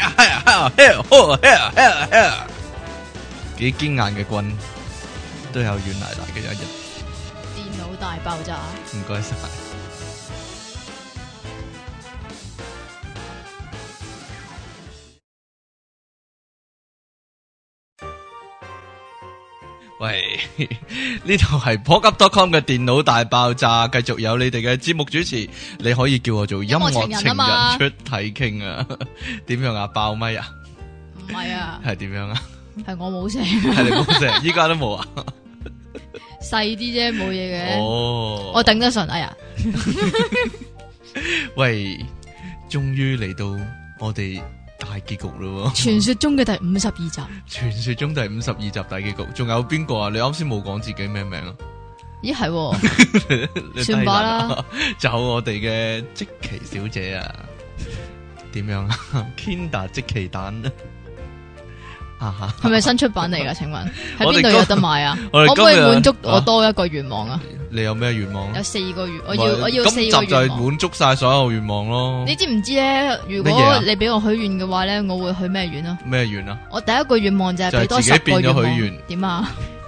幾堅硬嘅棍都有軟奶奶嘅一日。 電腦大爆炸。 唔該晒。喂，呢度係 pokup.com 嘅電腦大爆炸，繼續有你哋嘅節目主持，你可以叫我做音樂情人出體傾啊？點樣啊？爆咪啊？ 唔係啊， 係點樣啊？ 係我冇聲， 係你冇聲，依家都冇啊？ 細啲啫，冇嘢嘅。 哦， 我頂得順，哎呀！ 喂，終於嚟到我哋大結局咯！ 傳說中嘅第52集， 傳說中第52集大結局，仲有邊個啊？你啱先冇講自己咩名啊？ 咦係，算吧啦。 就我哋嘅積淇小姐啊，點樣啊 ？Kinder 積淇蛋啊， 係咪新出版嚟噶？請問喺邊度有得買啊？ 可唔可以滿足我多一個願望啊？ 你有咩願望？ 有4個願，我要4個願望。 今集就係滿足晒所有願望咯。 你知唔知咧？如果你俾我許願嘅話咧，我會許咩願啊？ 咩願啊？ 我第一個願望就係俾多10個願望。點啊？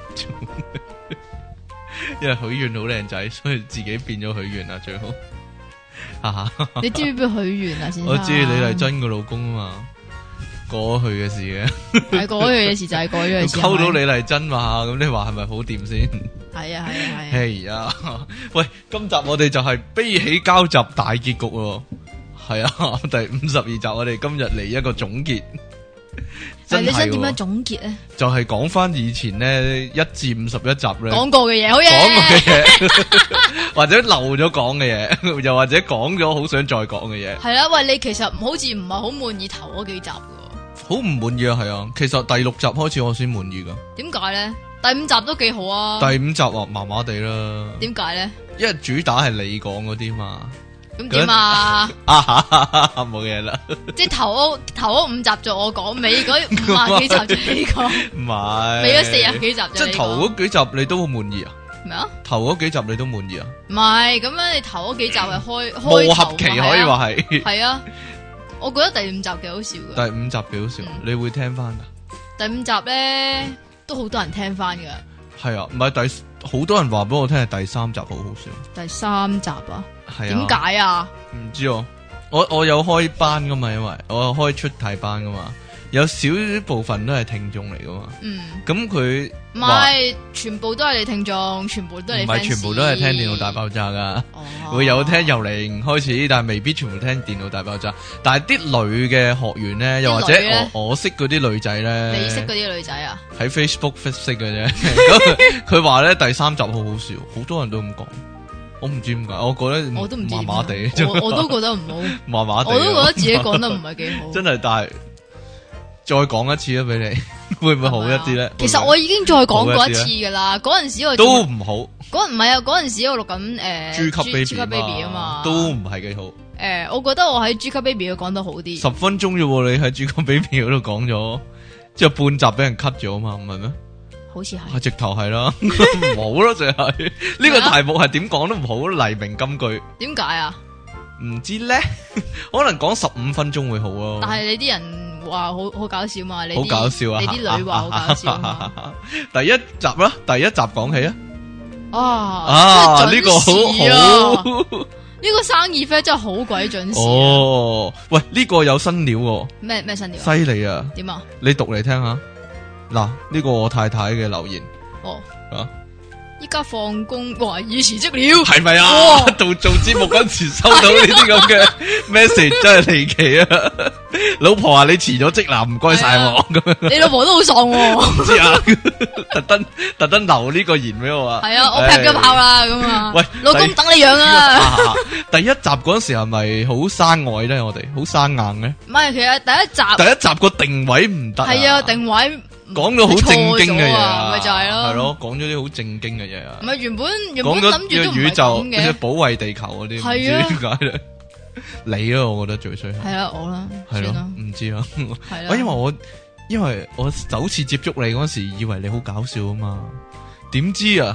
因為許願好靚仔，所以自己變咗許願啊，最好。 你知唔知邊許願啊？先生， 我知李麗珍個老公啊嘛。過去嘅事嘅， 係過去嘅事就係過去嘅事。 溝到李麗珍嘛，咁你話係咪好掂先？ 係啊係啊係。 係啊，喂，今集我哋就係悲喜交集大結局咯。係啊，第52集我哋今日嚟一個總結。真係你想點樣總結咧？ 就係講翻以前咧1至51集咧講過嘅嘢，好嘢。 講過嘅嘢，或者漏咗講嘅嘢，又或者講咗好想再講嘅嘢。 係啦，喂，你其實好似唔係好滿意頭嗰幾集。 好唔滿意啊，係啊，其實第6集開始我先滿意噶。 點解咧？第5集都幾好啊。 第5集啊，麻麻地啦。 點解咧？ 因為主打係你講嗰啲嘛。 咁點啊？ 冇嘢啦。 即係頭嗰5集就我講，尾嗰50幾集就你講。 唔係。 尾嗰40幾集就你講。 即係頭嗰幾集你都好滿意啊？ 咩啊？ 頭嗰幾集你都滿意啊？ 唔係，咁樣你頭嗰幾集係開磨合期可以話係。 係啊。我覺得第5集幾好笑噶。 第5集幾好笑，你會聽翻噶？ 第5集咧都好多人聽翻噶。 係啊，唔係好多人話俾我聽係第3集好好笑。 第3集啊？ 係啊。 點解啊？ 唔知我有開班噶嘛，因為我有開出體班噶嘛，有少部分都係聽眾嚟噶嘛。咁佢唔係全部都係你聽眾，全部都係你 fans。 唔係全部都係聽電腦大爆炸噶。會有聽由0開始，但係未必全部聽電腦大爆炸。但係啲女嘅學員咧，又或者我識嗰啲女仔咧， 你識嗰啲女仔啊？喺 Facebook 識嘅啫。咁佢話咧第3集好好笑，好多人都咁講。我唔知點解，我覺得我都唔知麻麻地， 我都覺得唔好， 麻麻地。 我都覺得自己講得唔係幾好。 真係，但係再講一次啊，俾你會唔會好一啲咧？ 其實我已經再講過一次噶啦，嗰陣時我都唔好。 唔係啊，嗰陣時我錄緊豬級 baby 啊嘛， 都唔係幾好。 我覺得我喺豬級 baby 度講得好啲。 10分鐘啫喎，你喺豬級 baby 嗰度講咗，之後半集俾人 cut 咗啊嘛，唔係咩？好似係，直頭係啦，唔好咯，就係呢個題目係點講都唔好，黎明金句。點解啊？唔知咧，可能講15分鐘會好咯。但係你啲人話好搞笑嘛？你好搞笑啊！你啲女話好搞笑嘛？第一集啦，第一集講起啊！呢個好，呢個生意 friend 真係好鬼準時。哦，喂，呢個有新料喎。咩新料？犀利啊！點啊？你讀嚟聽下。嗱，呢個我太太嘅留言。哦，啊，依家放工，哇，已辭職了，係咪啊？做節目嗰時收到呢啲咁嘅 message， 真係離奇啊！老婆話你辭咗職啦，唔該晒我。咁你老婆都好爽，唔知啊？特登留呢個言俾我啊。係啊，我劈咗炮啦，咁啊。喂，老公等你養啊！第一集嗰時係咪好生愛咧？我哋好生硬咧？唔係，其實第一集個定位唔得。係啊，定位。講到好正經嘅嘢，咪就係咯，係咯，講咗啲好正經嘅嘢啊。唔係原本諗住都唔係咁嘅，保衛地球嗰啲，唔知點解咧。你啊，我覺得最衰係啊，我啦，係咯，唔知啊。係啦，因為我首次接觸你嗰時，以為你好搞笑啊嘛，點知啊，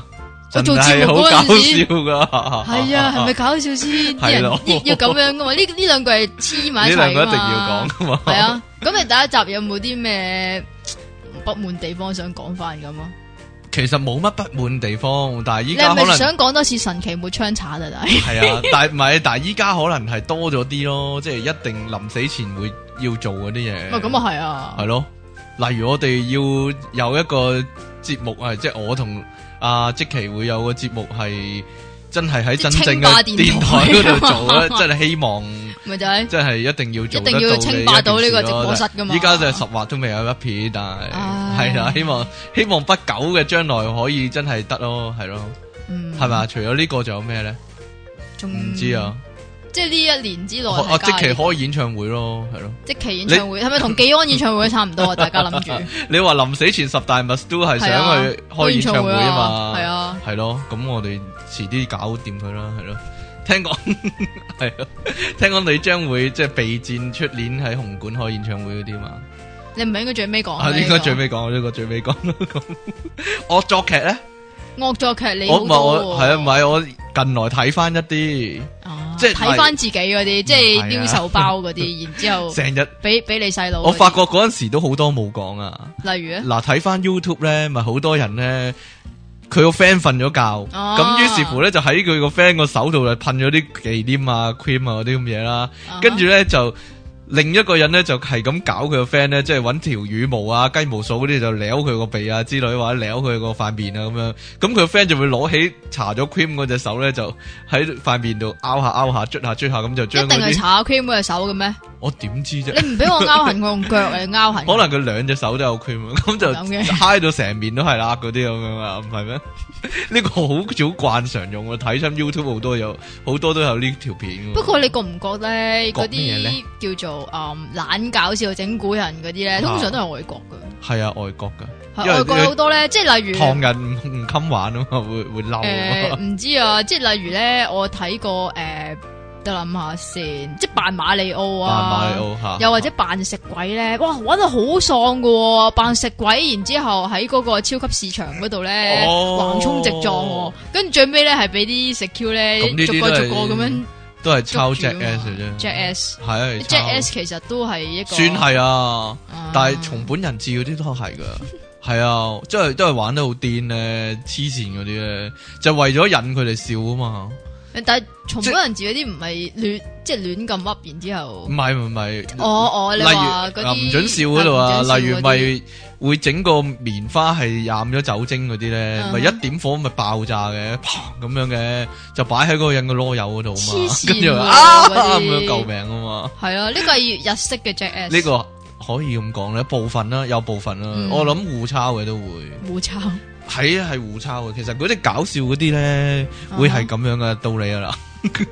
我做節目嗰陣時好搞笑噶， 係啊，係咪搞笑先？啲人要咁樣噶嘛？呢兩句係黐埋一齊噶嘛？ 呢兩個一定要講噶嘛？ 係啊，咁你第一集有冇啲咩不滿地方想講翻咁啊？ 其實冇乜不滿地方，但係依家可能你係咪想講多次神奇沒槍鏟啊？ 係啊，但係唔係，但係依家可能係多咗啲咯，即係一定臨死前會要做嗰啲嘢。 咁啊係啊， 係咯，例如我哋要有一個節目係，即係我同阿積淇會有個節目係真係喺真正嘅電台嗰度做咧，真係希望。 咪就係， 真係一定要做得到， 一定要稱霸到呢個直播室噶嘛。 依家就10劃都未有一片，但係係啦，希望不久嘅將來可以真係得咯，係咯，係咪？除咗呢個仲有咩咧？唔知啊，即係呢一年之內，積淇開演唱會咯，係咯，積淇演唱會係咪同技安演唱會差唔多啊？大家諗住，你話臨死前10大 must do 係想去開演唱會啊嘛？係啊，係咯，咁我哋遲啲搞掂佢啦，係咯。聽講係咯，聽講你將會即係備戰出年喺紅館開演唱會嗰啲嘛？你唔係應該最尾講？應該最尾講呢個最尾講。惡作劇咧？惡作劇你好多係啊？唔係我近來睇翻一啲，即係睇翻自己嗰啲，即係撩手包嗰啲，然之後成日俾你細佬。我發覺嗰陣時都好多冇講啊。例如咧，嗱睇翻 YouTube 咧，咪好多人咧。佢個 friend 瞓咗覺，咁於是乎咧就喺佢個 friend 個手度就噴咗啲忌廉啊、cream 啊嗰啲咁嘢啦，跟住咧就另一個人咧就係咁搞佢個 friend 咧，即係搵條羽毛啊、雞毛掃嗰啲就撩佢個鼻啊之類，或者撩佢個塊面啊咁樣，咁佢個 friend 就會攞起搽咗 cream 嗰隻手咧，就喺塊面度拗下拗下、捽下捽下咁就將。一定係搽 cream 嗰隻手嘅咩？我點知啫？你唔俾我拗痕，我用腳嚟拗痕。可能佢兩隻手都有 cream，咁就嗨到成面都係啦，嗰啲咁樣啊，唔係咩？呢個好早慣常用，我睇親 YouTube 好多都有呢條片。不過你覺唔覺咧？嗰啲叫做懶搞笑整蠱人嗰啲咧，通常都係外國噶。係啊，外國噶，外國好多咧，即係例如唐人唔襟玩啊嘛，會嬲。唔知啊，即係例如咧，我睇過得諗下先，即係扮馬里奧啊，又或者扮食鬼咧，哇，玩得好喪噶，扮食鬼，然之後喺嗰個超級市場嗰度咧橫衝直撞，跟住最尾咧係俾啲食 Q 咧逐個咁樣，都係抄 Jackass 啫 ，Jackass 係啊，Jackass 其實都係一個算係啊，但係松本人志嗰啲都係噶，係啊，即係都係玩得好癲咧，黐線嗰啲咧，就為咗引佢哋笑啊嘛。但係松本人志嗰啲唔係亂，即係亂咁噏，然之後唔係，你話嗰啲唔准笑嗰度啊，例如咪會整個棉花係染咗酒精嗰啲咧，咪一點火咪爆炸嘅，砰咁樣嘅，就擺喺嗰個人嘅囉柚嗰度嘛，跟住咁樣救命啊嘛，係啊，呢個係日式嘅 Jackass，呢個可以咁講咧，部分啦，有部分啦，我諗互抄嘅都會互抄。係互抄嘅，其實嗰啲搞笑嗰啲咧，會係咁樣嘅道理啊啦，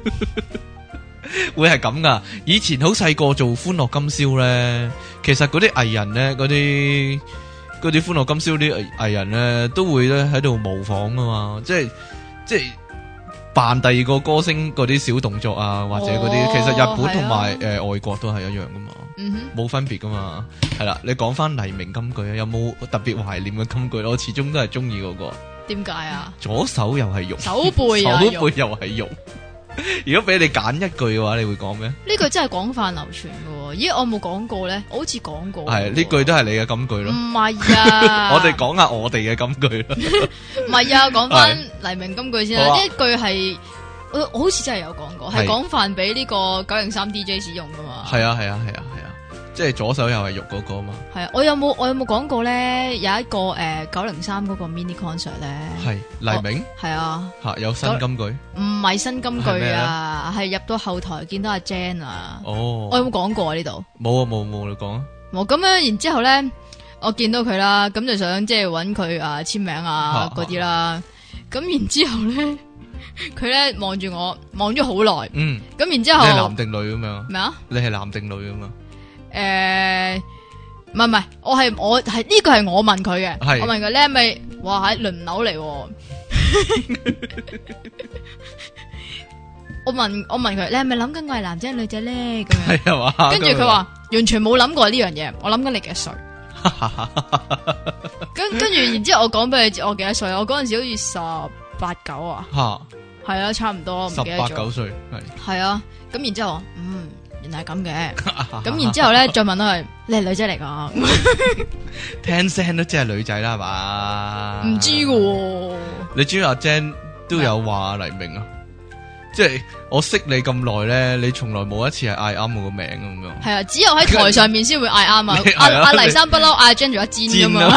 會係咁噶。以前好細個做歡樂今宵咧，其實嗰啲藝人咧，嗰啲歡樂今宵啲藝人咧，都會咧喺度模仿噶嘛，即係扮第二個歌星嗰啲小動作啊，或者嗰啲，其實日本同埋外國都係一樣噶嘛，冇分別噶嘛。係啦，你講翻黎明金句啊，有冇特別懷念嘅金句？我始終都係中意嗰個。點解啊？左手又係肉，手背又係肉。如果俾你揀一句嘅話，你會講咩？呢句真係廣泛流傳嘅。咦，我冇講過咧，我好似講過。係呢句都係你嘅金句咯。唔係啊，我哋講下我哋嘅金句啦。唔係啊，講翻黎明金句先啦。呢一句係我好似真係有講過，係廣泛俾呢個903 DJ 使用噶嘛。係啊。即係左手又係肉嗰個嘛？係啊，我有冇講過咧？有一個903嗰個 mini concert 咧，係黎明係啊，有新金句？唔係新金句啊，係入到後台見到阿 Jan 啊。哦，我有冇講過啊？呢度冇，你講啊。冇咁樣，然之後咧，我見到佢啦，咁就想即係搵佢簽名啊嗰啲啦。咁然之後咧，佢咧望住我，望咗好耐。嗯，咁然之後你係男定女咁樣？咩啊？你係男定女咁啊？唔係，我係呢個係我問佢嘅，我問佢你係咪話喺輪流嚟？我問佢你係咪諗緊我係男仔女仔咧？咁樣係嘛？跟住佢話完全冇諗過呢樣嘢，我諗緊你幾歲？跟住然之後我講俾佢知我幾多歲，我嗰陣時好似 8、9啊， 吓係啊，差唔多，唔記得咗。 18、9歲係啊，咁然之後原來係咁嘅，咁然之後咧再問佢你係女仔嚟噶？ 聽聲都知係女仔啦，係嘛？ 唔知嘅， 你知阿 Jen 都有話黎明啊？即係我識你咁耐咧，你從來冇一次係嗌啱我個名咁樣。 係啊，只有喺台上面先會嗌啱啊！阿黎生不嬲嗌 Jen 做阿煎噶嘛。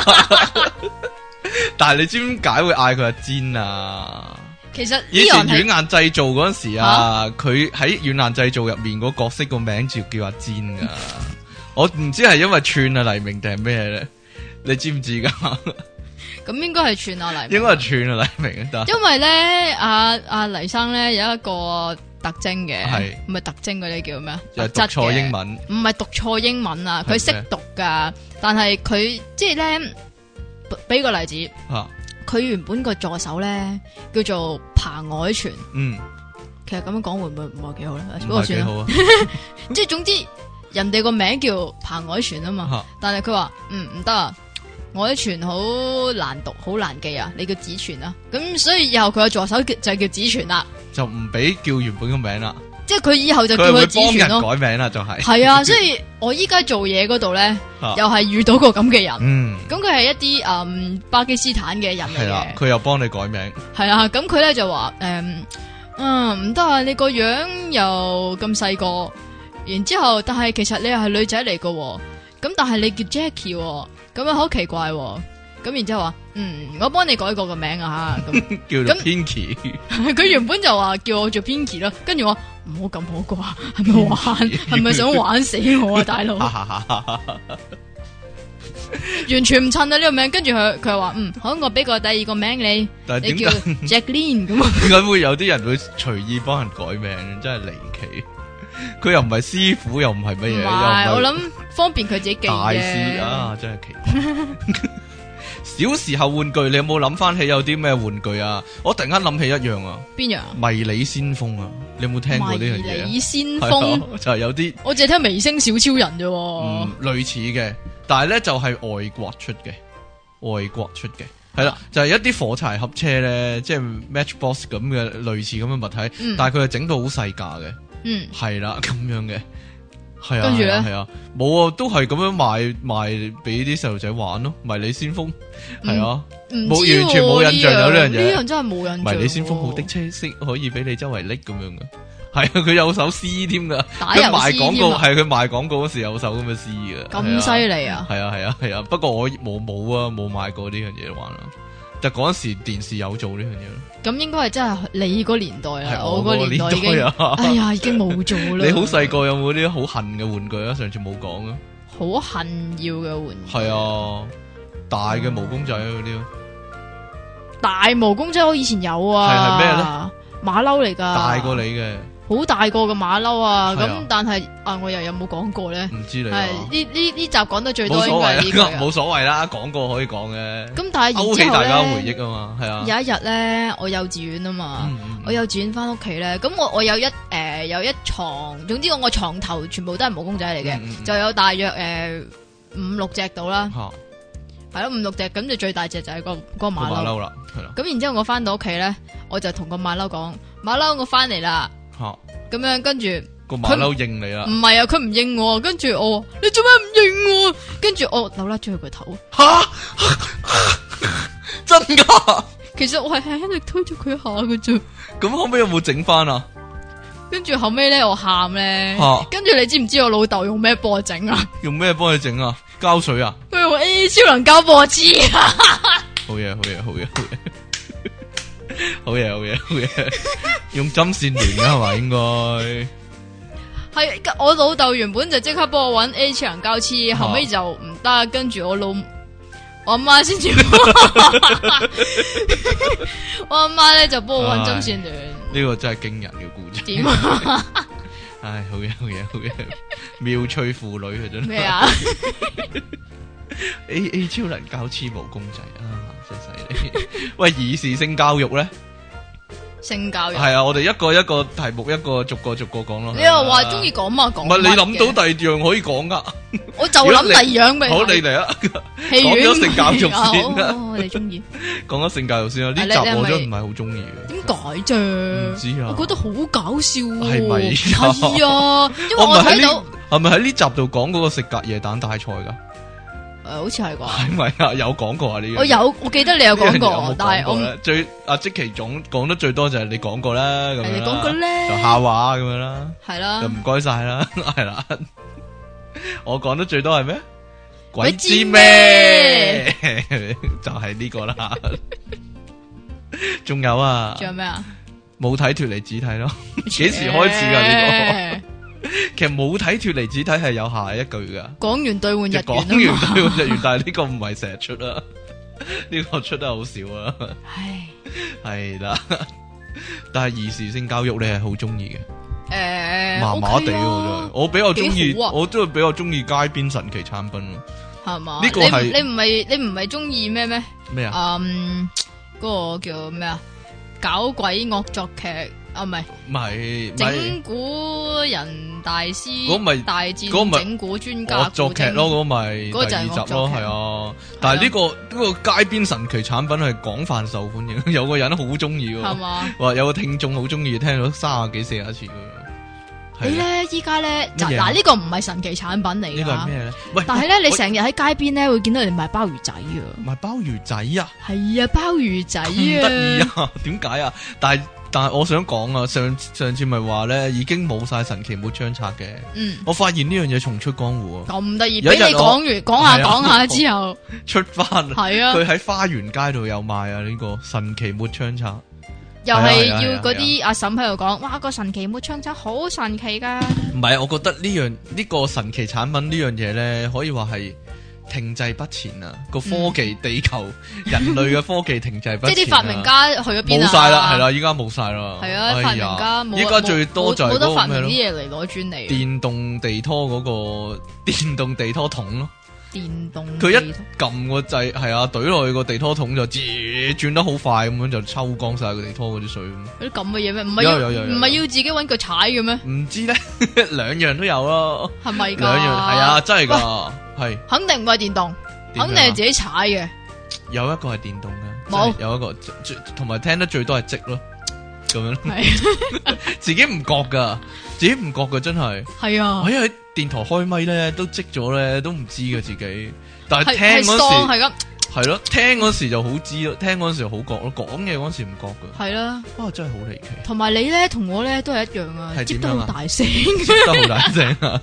但係你知唔知點解會嗌佢阿煎啊？ 其實以前軟硬製造嗰陣時啊，佢喺軟硬製造入面個角色個名就叫阿煎噶。我唔知係因為串啊黎明定係咩咧？你知唔知噶？ 咁應該係串啊黎明， 應該係串啊黎明得。 因為咧阿黎生咧有一個特徵嘅， 係唔係特徵嗰啲叫咩？ 就讀錯英文， 唔係讀錯英文啊！佢識讀噶，但係佢即係咧，俾個例子。佢原本個助手咧叫做彭凱全，其實咁樣講會唔會唔係幾好咧？不過算啦，即係總之人哋個名叫彭凱全啊嘛，但係佢話唔得啊，凱全好難讀，好難記啊，你叫子全啊，咁所以以後佢個助手就叫子全啦，就唔俾叫原本個名啦。即係佢以後就叫佢子全咯，改名啦就係。係啊，所以我依家做嘢嗰度咧，又係遇到個咁嘅人。咁佢係一啲巴基斯坦嘅人嚟嘅。係啦，佢又幫你改名。係啊，咁佢咧就話唔得啊，你個樣又咁細個，然之後但係其實你又係女仔嚟噶，咁但係你叫 Jackie，咁樣好奇怪。咁然之後話，我幫你改過個名啊吓，咁叫做 Pinky。佢原本就話叫我做 Pinky 咯，跟住我唔好咁好啩，係咪玩？係咪想玩死我啊，大佬？完全唔襯啊呢個名，跟住佢又話，好，我俾個第二個名你，你叫 Jacqueline 咁。點解會有啲人會隨意幫人改名？真係離奇。佢又唔係師傅，又唔係乜嘢，又唔係。我諗方便佢自己記大師啊，真係奇怪。小時候玩具，你有冇諗翻起有啲咩玩具啊？我突然間諗起一樣啊，邊樣？迷你先鋒啊，你有冇聽過呢樣嘢？迷你先鋒就係有啲，我淨係聽微星小超人啫。類似嘅，但係咧就係外國出嘅，係啦，就係一啲火柴盒車咧，即係 Matchbox 咁嘅類似咁嘅物體，但係佢係整到好細架嘅，係啦咁樣嘅。係啊，跟住咧，係啊，冇啊，都係咁樣賣俾啲細路仔玩咯。迷你先鋒係啊，冇完全冇印象有呢樣嘢。呢樣真係冇印象。迷你先鋒好的車色可以俾你周圍拎咁樣嘅，係啊，佢有首詩添噶。佢賣廣告係佢賣廣告嗰時有首咁嘅詩嘅。咁犀利啊！係啊，不過我冇買過呢樣嘢玩啦。但嗰陣時電視有做呢樣嘢咯。咁應該係真係你嗰年代啊，我嗰年代已經，哎呀，已經冇做啦。你好細個有冇啲好恨嘅玩具啊？上次冇講啊。好恨要嘅玩具。係啊，大嘅毛公仔嗰啲咯。大毛公仔我以前有啊。係咩咧？馬騮嚟噶。大過你嘅。好大個嘅馬騮啊！咁但係我又有冇講過咧？唔知你係呢集講得最多應該係呢個。冇所謂啦，講過可以講嘅。咁但係勾起大家回憶啊嘛，係啊。有一日咧，我幼稚園啊嘛，我幼稚園翻屋企咧，咁我有一床，總之我個床頭全部都係毛公仔嚟嘅，就有大約5-6隻到啦。係咯，5-6隻，咁就最大隻就係個馬騮啦。係啦。咁然之後我翻到屋企咧，我就同個馬騮講：馬騮，我翻嚟啦。咁樣跟住個馬騮應你啦，唔係啊，佢唔應我，跟住我，你做咩唔應我？跟住我扭甩咗佢個頭，吓，真噶？其實我係輕輕力推咗佢一下嘅啫。咁後尾有冇整翻啊？跟住後尾咧，我喊咧，跟住你知唔知我老豆用咩幫我整啊？用咩幫你整啊？膠水啊？佢用 A 超能膠波子啊！好嘢，好嘢，好嘢，好嘢。好嘢，用針線連噶係嘛？應該係我老豆原本就即刻幫我搵 A 超能膠黐，後尾就唔得，跟住我阿媽先至，我阿媽咧就幫我搵針線連。呢個真係驚人嘅故事。點啊？唉，好嘢，妙趣婦女嘅真係。咩啊 ？A 超能膠黐毛公仔啊！真犀利！喂，兒時性教育咧， 性教育係啊，我哋一個題目一個逐個講咯。 你又話中意講嘛講？ 唔係你諗到第二樣可以講噶？ 我就諗第二樣俾。 好，你嚟啊！ 講咗性教育先啦。 你中意？ 講咗性教育先啦。呢集我都唔係好中意嘅。 點解啫？唔知啊。 我覺得好搞笑。 係咪？ 係啊，因為我睇到係咪喺呢集度講嗰個食隔夜蛋大賽噶？ 好似係啩？ 係咪啊？有講過啊？呢樣我記得你有講過，但係我最阿積淇總講得最多就係你講過啦，咁樣你講過咧， 就下話咁樣啦， 係啦， 就唔該晒啦，係啦。我講得最多係咩？鬼知咩？就係呢個啦。仲有啊？ 仲有咩啊？ 冇睇脫離子體咯？幾時開始噶呢個？其實冇睇脫離子體係有下一句噶，講完兌換日元， 講完兌換日元，但係呢個唔係成日出啊，呢個出得好少啊。 唉， 係啦，但係兒時性教育你係好中意嘅，麻麻地喎，我比較中意，我都係比較中意街邊神奇產品咯，係嘛？呢個係你唔係中意咩咩啊？ 嗰個叫咩啊？搞鬼惡作劇。唔係整蠱人大師，嗰咪大戰整蠱專家作劇咯，嗰咪第二集咯，係啊。但係呢個街邊神奇產品係廣泛受歡迎，有個人好中意，係嘛？話有個聽眾好中意，聽到30幾40次。 你咧依家咧嗱呢個唔係神奇產品嚟㗎， 呢個係咩咧？喂， 但係咧你成日喺街邊咧會見到人賣鮑魚仔啊！ 賣鮑魚仔啊？ 係啊，鮑魚仔啊！咁得意啊？點解啊？但係我想講啊，上次咪話咧已經冇晒神奇抹槍刷嘅，我發現呢樣嘢重出江湖啊！ 咁得意，俾你講下之後出翻， 係啊！ 佢喺花園街度有賣啊！呢個神奇抹槍刷， 又係要嗰啲阿嬸喺度講，哇個神奇抹槍刷好神奇噶！ 唔係，我覺得呢個神奇產品呢樣嘢咧，可以話係停滯不前啊！個科技地球人類嘅科技停滯不前， 即係啲發明家去咗邊啊？ 冇晒啦，係啦，依家冇晒啦。 係啊，發明家冇。 依家最多就係冇得發明啲嘢嚟攞專利。 電動地拖嗰個電動地拖桶咯。 電動佢一撳個掣，係啊，懟落去個地拖桶就轉得好快咁樣，就抽乾晒個地拖嗰啲水。 有啲咁嘅嘢咩？唔係要自己搵腳踩嘅咩？ 唔知咧，兩樣都有咯。 係咪噶？ 兩樣係啊，真係噶，係。 肯定唔係電動，肯定係自己踩嘅。 有一個係電動嘅， 冇有一個同埋聽得最多係積咯，咁樣。自己唔覺噶，真係。係啊。我因為電台開咪咧都積咗咧，都唔知嘅自己。但係聽嗰時係咯，聽嗰時就好知咯，聽嗰時好覺咯，講嘢嗰時唔覺噶。係啦，哇，真係好離奇。同埋你咧，同我咧都係一樣啊，積得好大聲， 積得好大聲啊！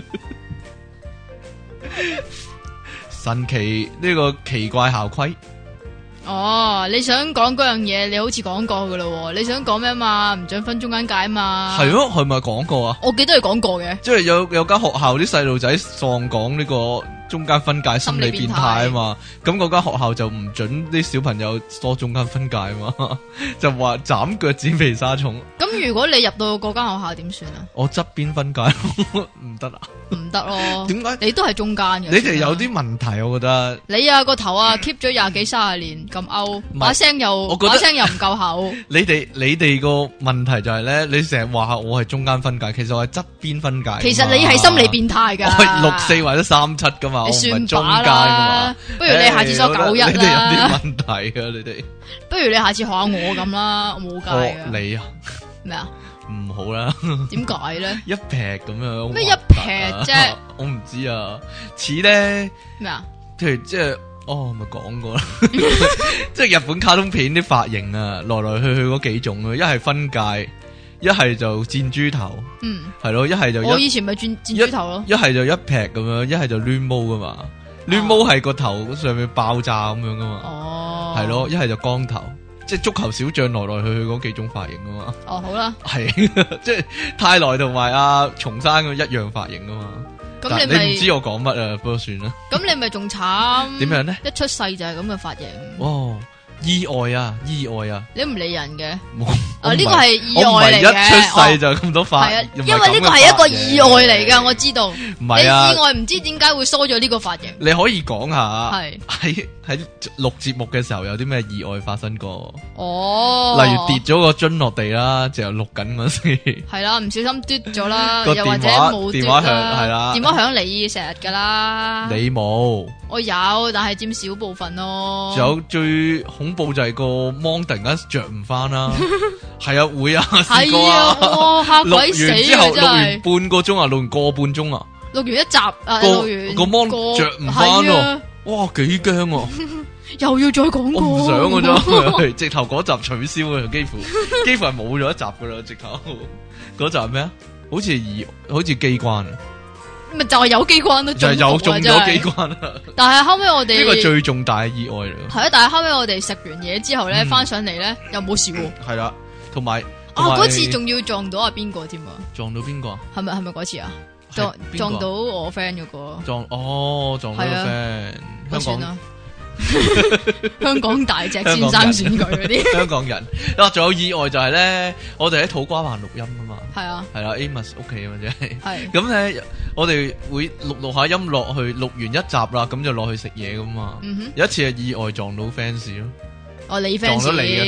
神奇呢個奇怪校規。 哦，你想講嗰樣嘢，你好似講過噶咯，你想講咩嘛？唔准分中間界嘛？ 係咯，係咪講過啊？ 我記得你講過嘅， 即係有間學校啲細路仔喪講呢個中間分界心理變態啊嘛，咁嗰間學校就唔准啲小朋友多中間分界啊嘛，就話斬腳趾避沙蟲。咁如果你入到嗰間學校點算啊？ 我側邊分界唔得啊？ 唔得咯？ 點解？ 你都係中間嘅。 你哋有啲問題，我覺得。 你啊個頭啊 keep 咗20幾30年咁勾，把聲又唔夠厚。 你哋個問題就係咧，你成日話我係中間分界，其實我係側邊分界。 其實你係心理變態噶。 我係64或者37噶嘛， 你算中間噶嘛。 不如你下次所91啦。 你哋有啲問題啊，你哋。 不如你下次學下我咁啦，我冇計啊。 你啊？咩啊？唔好啦。點解咧？一劈咁樣。 咩一劈啫？ 我唔知啊。似咧咩啊？譬如即係咪講過啦。即係日本卡通片啲髮型啊，來來去去嗰幾種啊，一係分界，一係就箭豬頭。係咯，一係就我以前咪箭豬頭咯。 一係就一劈咁樣，一係就攣毛噶嘛。攣毛係個頭上面爆炸咁樣噶嘛。哦。係咯，一係就光頭。即係足球小將來來去去嗰幾種髮型啊嘛。 哦，好啦。 係，即係泰來同埋阿松山咁一樣髮型啊嘛。咁你唔知我講乜啊？不過算啦。咁你咪仲慘？ 點樣咧？ 一出世就係咁嘅髮型。 哦，意外啊！你唔理人嘅。 呢個係意外嚟嘅， 我唔係一出世就咁多髮， 係啊，因為呢個係一個意外嚟噶，我知道。 唔係啊， 你意外唔知點解會梳咗呢個髮型？ 你可以講下， 係喺錄節目嘅時候有啲咩意外發生過？ 哦， 例如跌咗個樽落地啦，就錄緊嗰時。 係啦，唔小心嘟咗啦， 又或者冇電話響係啦， 電話響你成日噶啦。 你冇？ 我有，但係佔少部分咯。 仲有最恐怖就係個芒突然間着唔翻啦，係啊會啊，試過啊， 嚇鬼死啊！ 錄完之後錄完半個鐘啊，錄完個半鐘啊， 錄完一集啊，錄完個芒着唔翻咯，哇幾驚啊！ 又要再講過， 我唔想噶啫，直頭嗰集取消啊，幾乎係冇咗一集噶啦，直頭嗰集係咩啊？好似機關。 咪就係有機關咯， 就係有中咗機關啦。 但係後尾我哋呢個最重大嘅意外嚟。 係啊，但係後尾我哋食完嘢之後咧，翻上嚟咧又冇事喎。 係啦，同埋嗰次仲要撞到阿邊個添啊？ 撞到邊個啊？ 係咪嗰次啊？撞到我 friend 嗰個。撞到個 friend。 香港香港大隻先生選舉嗰啲香港人。仲有意外就係咧，我哋喺土瓜灣錄音啊嘛。 係啊， 係啦 ，Amos 屋企啊嘛，即係。 係。 咁咧，我哋會錄下音落去，錄完一集啦，咁就落去食嘢噶嘛。有一次係意外撞到 fans 咯。 你 fans 撞到你嘅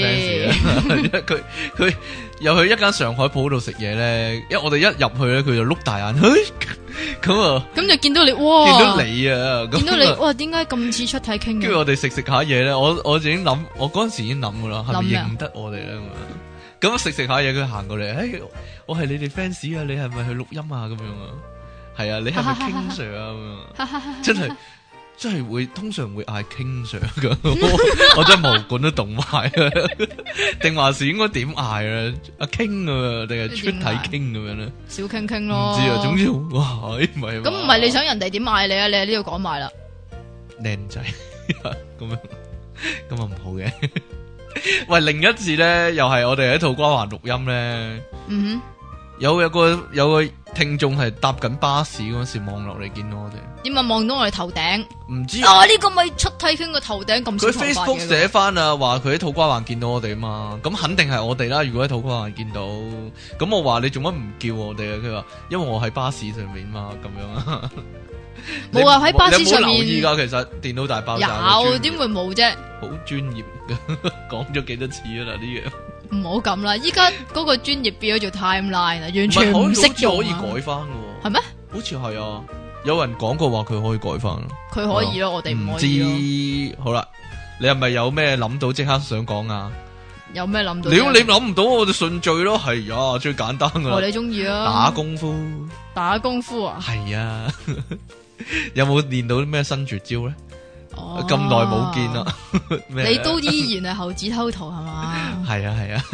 fans 佢又去一間上海鋪度食嘢咧，因為我哋一入去咧，佢就碌大眼，咁啊， 咁就見到你，哇！ 見到你啊， 見到你，哇！點解咁似出體傾嘅？ 跟住我哋食下嘢咧，我已經諗，我嗰陣時已經諗噶啦，係咪認得我哋咧？咁食下嘢，佢行過嚟，我係你哋 fans 啊，你係咪去錄音啊？咁樣啊，係啊，你係咪 King Sir 啊？真係。真係會通常會嗌 King Sir 噶，我真係毛管都動埋啊！定還是應該點嗌啊？阿 King 啊，定係出體 King 咁樣咧？ 小 King 咯， 唔知啊。總之哇，唔係咁唔係你想人哋點嗌你啊？你喺呢度講埋啦， 靚仔咁啊唔好嘅。喂，另一次咧，又係我哋喺土瓜灣錄音咧。有個聽眾係搭緊巴士嗰時望落嚟見到我哋， 點解望到我哋頭頂？ 唔知啊，呢個咪出體傾個頭頂咁少頭髮嘅。佢 Facebook 寫翻啊，話佢喺土瓜灣見到我哋啊嘛，咁肯定係我哋啦。如果喺土瓜灣見到，咁我話你做乜唔叫我哋啊？佢話因為我喺巴士上面嘛，咁樣啊。 冇啊，喺巴士上面。 你冇留意噶，其實電腦大爆炸有，點會冇啫？ 好專業嘅，講咗幾多次啊啦呢樣。 唔好咁啦，依家嗰個專業變咗做 timeline 啦，完全唔識用。 可以改翻嘅， 係咩？ 好似係啊，有人講過話佢可以改翻。 佢可以咯，我哋唔可以咯。好啦，你係咪有咩諗到即刻想講啊？ 有咩諗到？ 你諗唔到我哋順序咯，係啊，最簡單噶啦。 你中意啊？ 打功夫。 打功夫啊？係啊。有冇練到啲咩新絕招咧？咁耐冇見啦， 你都依然係猴子偷桃係嘛？ 係啊，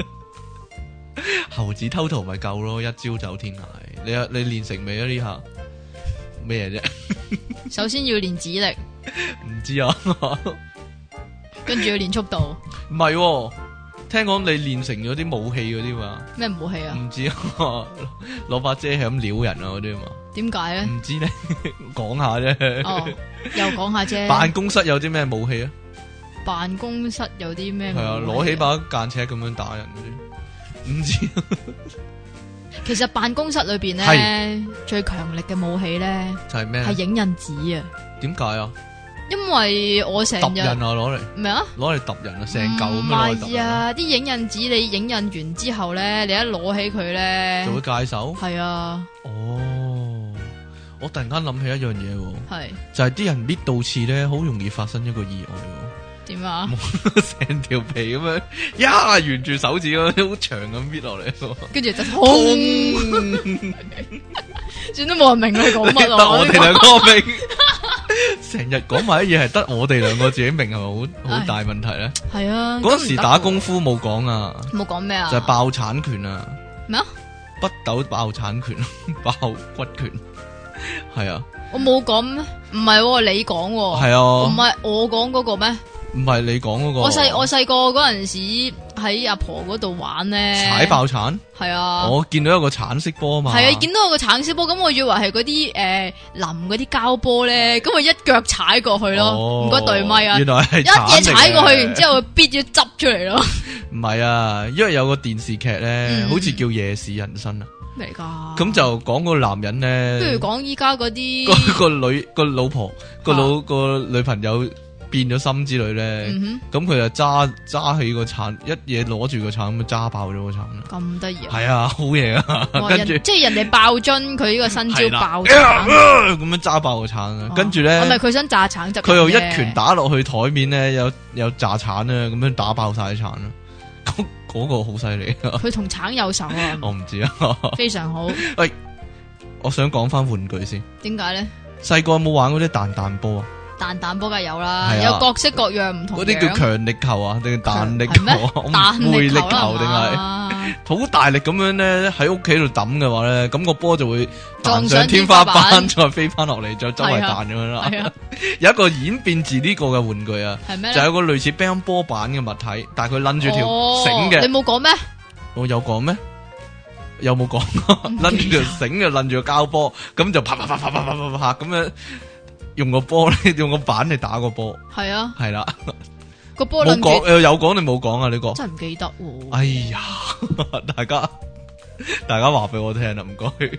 猴子偷桃咪夠咯，一招走天涯。你練成未啊？呢下咩啫？ 首先要練指力， 唔知啊。 跟住要練速度。 唔係，聽講你練成咗啲武器嗰啲嘛？ 咩武器啊？ 唔知啊，攞把遮係咁撩人啊嗰啲嘛？ 點解咧？ 唔知咧，講下啫。 哦，又講下啫。 辦公室有啲咩武器啊？ 辦公室有啲咩武器？ 係啊，攞起把間尺咁樣打人嗰啲，唔知。 其實辦公室裏邊咧，最強力嘅武器咧就係咩？ 係影印紙啊！ 點解啊？ 因為我成日揼人啊，攞嚟咩啊？ 攞嚟揼人啊，成嚿咁樣攞嚟揼人。 啊！啲影印紙你影印完之後咧，你一攞起佢咧， 就會戒手。係啊。 哦，我突然間諗起一樣嘢， 係就係啲人搣到刺咧，好容易發生一個意外。 點啊？ 成條皮咁樣，呀，沿住手指咁好長咁搣落嚟， 跟住就痛。算都冇人明佢講乜咯。 得我哋兩個明。成日講埋啲嘢係得我哋兩個自己明，係咪好大問題咧？ 係啊。 嗰時打功夫冇講啊。 冇講咩啊？ 就係爆產拳啊。 咩啊？ 北斗爆產拳，爆骨拳。係啊。 我冇講咩？唔係你講。 係啊。 唔係我講嗰個咩？ 唔係你講嗰個。 我細個嗰陣時， 喺阿婆嗰度玩咧， 踩爆橙。 係啊， 我見到有個橙色波嘛。 係啊，見到有個橙色波，咁我以為係嗰啲淋嗰啲膠波咧，咁我一腳踩過去咯，唔該對咪啊， 原來係一嘢踩過去，然之後必咗執出嚟咯。 唔係啊，因為有個電視劇咧，好似叫《夜市人生》啊。 咩嚟噶？ 咁就講個男人咧， 不如講依家嗰啲個老婆個女朋友變咗心之類咧，咁佢就揸起個橙，一嘢攞住個橙咁揸爆咗個橙。 咁得意啊！ 係啊，好嘢啊！跟住即係人哋爆樽，佢呢個新招爆橙， 咁樣揸爆個橙啊！跟住咧， 係咪佢想炸橙汁？ 佢又一拳打落去台面咧，有炸橙啊，咁樣打爆晒啲橙啊！嗰個好犀利啊！ 佢同橙有仇啊！ 我唔知啊， 非常好。 喂，我想講翻玩具先。點解咧？ 細個有冇玩嗰啲彈波啊？ 彈波梗係有啦，有各式各樣唔同。 嗰啲叫強力球啊，定係彈力球啊？魅力球定係好大力咁樣咧？喺屋企度抌嘅話咧，咁個波就會彈上天花板，再飛翻落嚟，再周圍彈咁樣啦。有一個演變自呢個嘅玩具啊，就有個類似乒乓波板嘅物體，但係佢攆住條繩嘅。 你冇講咩？ 我有講咩？有冇講？攆住條繩就攆住個膠波，咁就啪咁樣。用個波咧，用個板嚟打個波。係啊，係啦。 個波冇講，有講定冇講啊？呢個真係唔記得。 哎呀，大家話俾我聽啦，唔該。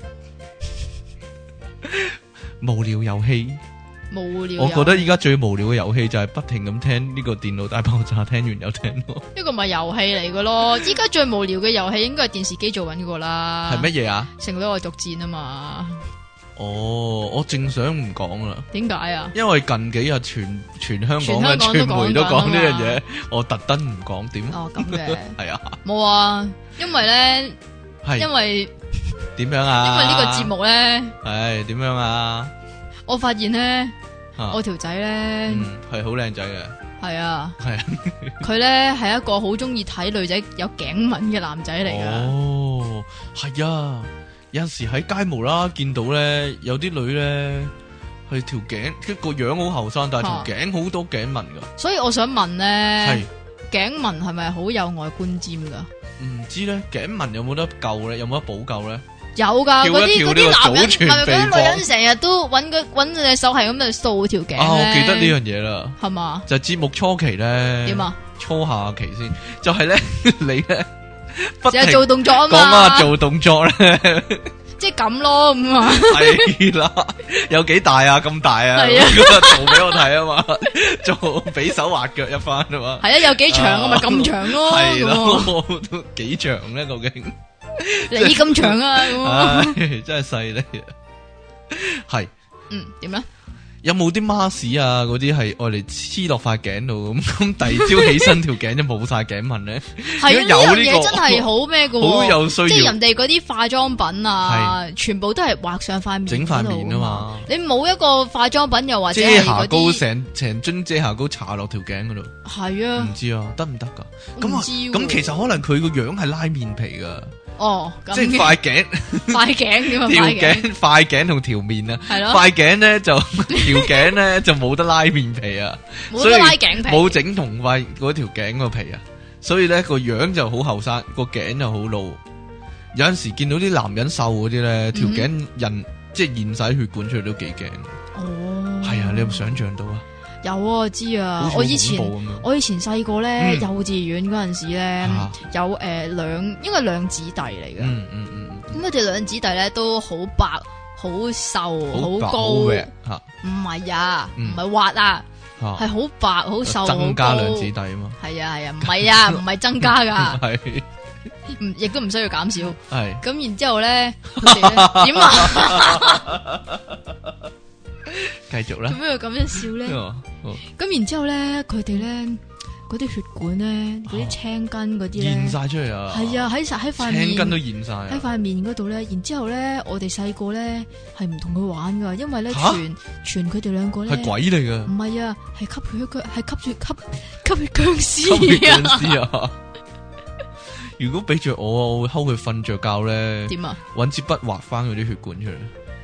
無聊遊戲， 無聊。 我覺得依家最無聊嘅遊戲就係不停咁聽呢個電腦大爆炸，聽完又聽咯。 呢個咪遊戲嚟嘅咯。依家最無聊嘅遊戲應該係電視機做緊個啦。 係乜嘢啊？ 聖女愛獨戰啊嘛。 哦，我正想唔講啦。 點解啊？ 因為近幾日全香港嘅傳媒都講呢樣嘢，我特登唔講點。 哦，咁嘅係啊， 冇啊，因為咧，因為點樣啊？ 因為呢個節目咧， 係點樣啊？ 我發現咧，我條仔咧， 係好靚仔嘅。 係啊， 係啊， 佢咧係一個好中意睇女仔有頸紋嘅男仔嚟噶。 哦，係啊。有陣時喺街無啦見到咧，有啲女咧係條頸，個樣好後生，但係條頸好多頸紋噶。 所以我想問咧，頸紋係咪好有外觀尖噶？ 唔知咧，頸紋有冇得救咧？有冇得補救咧？ 有噶，嗰啲男人係咪嗰啲女人成日都搵隻手係咁就掃條頸咧？ 我記得呢樣嘢啦， 係嘛？ 就節目初期咧， 點啊？ 初下期先，就係咧，你咧。 成日做動作啊嘛， 講啊做動作咧， 即係咁咯咁啊， 係啦，有幾大啊？咁大啊，做俾我睇啊嘛，做比手畫腳一番啊嘛， 係啊，有幾長啊咪咁長咯， 係咯，都幾長咧究竟？ 你咁長啊， 真係犀利啊，係， 點咧？ 有冇啲 mask 啊？嗰啲係愛嚟黐落塊頸度咁，第二朝起身條頸就冇晒頸紋咧。 係啊，呢樣嘢真係好咩嘅， 好有需要。 即係人哋嗰啲化妝品啊，全部都係畫上塊面， 整塊面啊嘛。 你冇一個化妝品又或者遮瑕膏，成樽遮瑕膏搽落條頸嗰度。係啊，唔知啊，得唔得噶？咁其實可能佢個樣係拉面皮噶。 哦， 即係塊頸， 塊頸點啊？ 條頸、塊頸同條面啊， 係咯。 塊頸咧就條頸咧就冇得拉面皮啊， 冇得拉頸皮， 冇整同塊嗰條頸個皮啊，所以咧個樣就好後生，個頸就好老。有陣時見到啲男人瘦嗰啲咧，條頸即係現晒血管出嚟都幾驚。哦，係啊，你有冇想象到啊？ 有啊，我知啊，我以前細個咧，幼稚園嗰陣時咧，有應該兩姊弟嚟嘅。咁佢哋兩姊弟咧都好白、好瘦、好高。唔係啊，唔係滑啊，係好白、好瘦、好高。 增加兩姊弟啊嘛。係啊，唔係啊，唔係增加噶。 係。 亦都唔需要減少。 係。 咁然之後咧，點啊？ 繼續啦。 做咩要咁樣笑咧？咁然之後咧，佢哋咧嗰啲血管咧，嗰啲青筋嗰啲咧， 現晒出嚟啊！ 係啊，喺塊面， 青筋都現晒喺塊面嗰度咧。然之後咧，我哋細個咧係唔同佢玩噶，因為咧傳佢哋兩個咧係鬼嚟噶， 唔係啊，係吸血僵屍啊！ 如果俾着我會睺佢瞓着覺咧， 點啊？ 搵支筆畫翻嗰啲血管出嚟。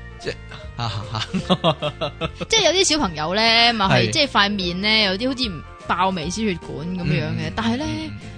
即係有啲小朋友咧，咪係即係塊面咧有啲好似爆微絲血管咁樣嘅，但係咧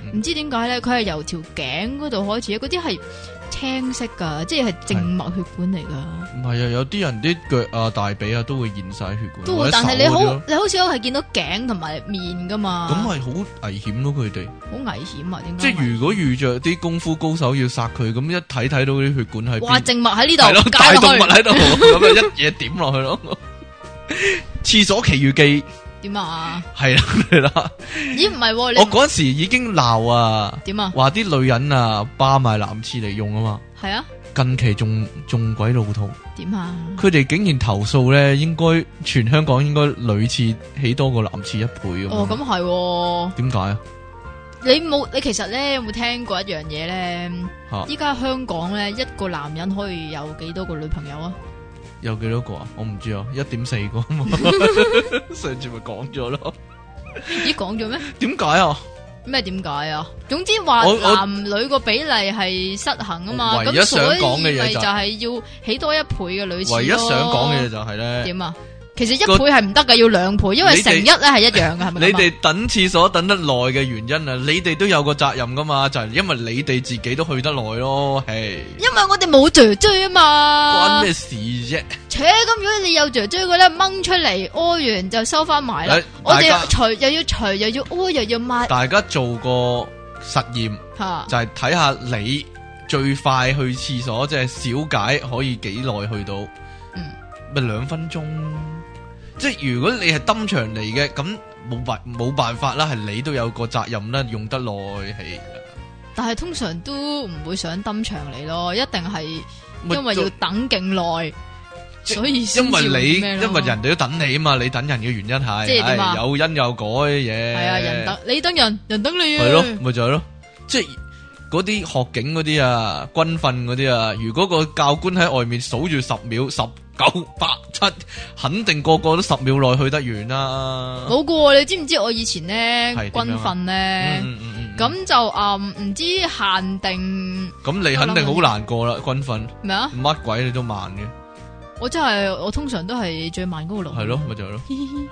唔知點解咧，佢係由條頸嗰度開始，嗰啲係青色噶，即係靜脈血管嚟噶。 唔係啊，有啲人啲腳啊、大髀啊都會現晒血管。 都會，但係你好少係見到頸同埋面噶嘛。 咁係好危險咯，佢哋。好危險啊？點解？ 即係如果遇着啲功夫高手要殺佢，咁一睇到啲血管喺邊。 哇！靜脈喺呢度， 係咯，大動脈喺度，咁啊一嘢點落去咯。廁所奇遇記。點啊？係啦， 咦唔係？我嗰時已經鬧啊。點啊？話啲女人啊霸埋男廁嚟用啊嘛。係啊。近期仲鬼老土。點啊？佢哋竟然投訴咧，應該全香港應該女廁起多過男廁1倍。 哦，咁係。 點解啊？ 你其實咧有冇聽過一樣嘢咧？依家香港咧一個男人可以有幾多個女朋友啊？ 有幾多個啊？我唔知啊，1.4個嘛。上次咪講咗咯。 咦，講咗咩？ 點解啊？ 咩點解啊？總之話男女個比例係失衡啊嘛。 唯一想講嘅嘢就係要起多1倍嘅女廁咯。唯一想講嘅嘢就係咧。 點啊？其實1倍係唔得噶，要2倍，因為乘1咧係一樣噶，係咪？ 你哋等廁所等得耐嘅原因啊，你哋都有個責任噶嘛，就係因為你哋自己都去得耐咯，係。因為我哋冇姐姐啊嘛。關咩事啫？咁如果你有姐姐嘅咧，掹出嚟屙完就收翻埋啦。我哋除又要屙又要抹。大家做個實驗，就係睇下你最快去廁所，即係小解可以幾耐去到？咪2分鐘。即係如果你係登場嚟嘅，咁冇辦法啦，係你都有個責任啦，用得耐係。但係通常都唔會想登場嚟咯，一定係因為要等勁耐，所以因為人哋都等你啊嘛，你等人嘅原因係，即係點啊？有因有果嘅嘢。係啊，人等你等人，人等你啊。係咯，咪就係咯，即係嗰啲學警嗰啲啊，軍訓嗰啲啊，如果個教官喺外面數住10秒10。9、8、7，肯定個個都10秒內去得完啦。冇噶，你知唔知我以前咧軍訓咧，咁就唔知限定。咁你肯定好難過啦，軍訓。咩啊？乜鬼你都慢嘅。我通常都係最慢嗰個路。係咯，咪就係咯。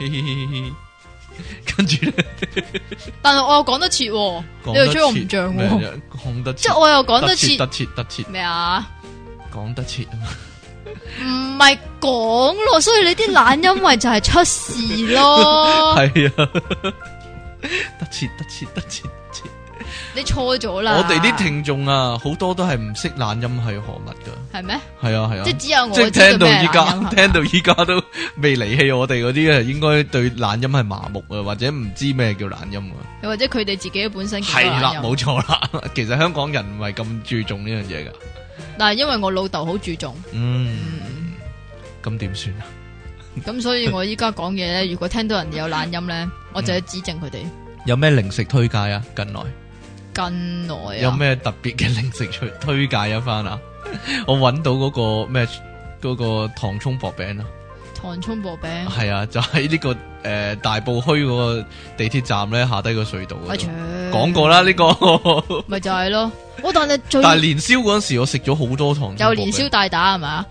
跟住咧，但係我又講得切，你又吹我唔脹。講得即係我又講得切，得切咩啊？講得切啊嘛。唔係講咯，所以你啲懶音咪就係出事咯。係啊，得切，你錯咗啦。我哋啲聽眾啊，好多都係唔識懶音係何物噶。係咩？係啊，即係只有我即係聽到依家都未離棄我哋嗰啲啊，應該對懶音係麻木啊，或者唔知咩叫懶音啊。又或者佢哋自己本身係啦，冇錯啦。其實香港人唔係咁注重呢樣嘢噶。但係因為我老豆好注重，咁點算啊？咁所以我依家講嘢咧，如果聽到人哋有懶音咧，我就要指正佢哋。有咩零食推介啊？近來啊？有咩特別嘅零食推介一番啊？我搵到嗰個咩嗰個糖蔥薄餅啊！糖蔥薄餅係啊，就喺呢個大埔墟嗰個地鐵站咧，下低個隧道嗰度講過啦，呢個咪就係咯。但係年宵嗰陣時，我食咗好多糖蔥薄餅。有年宵大打係嘛？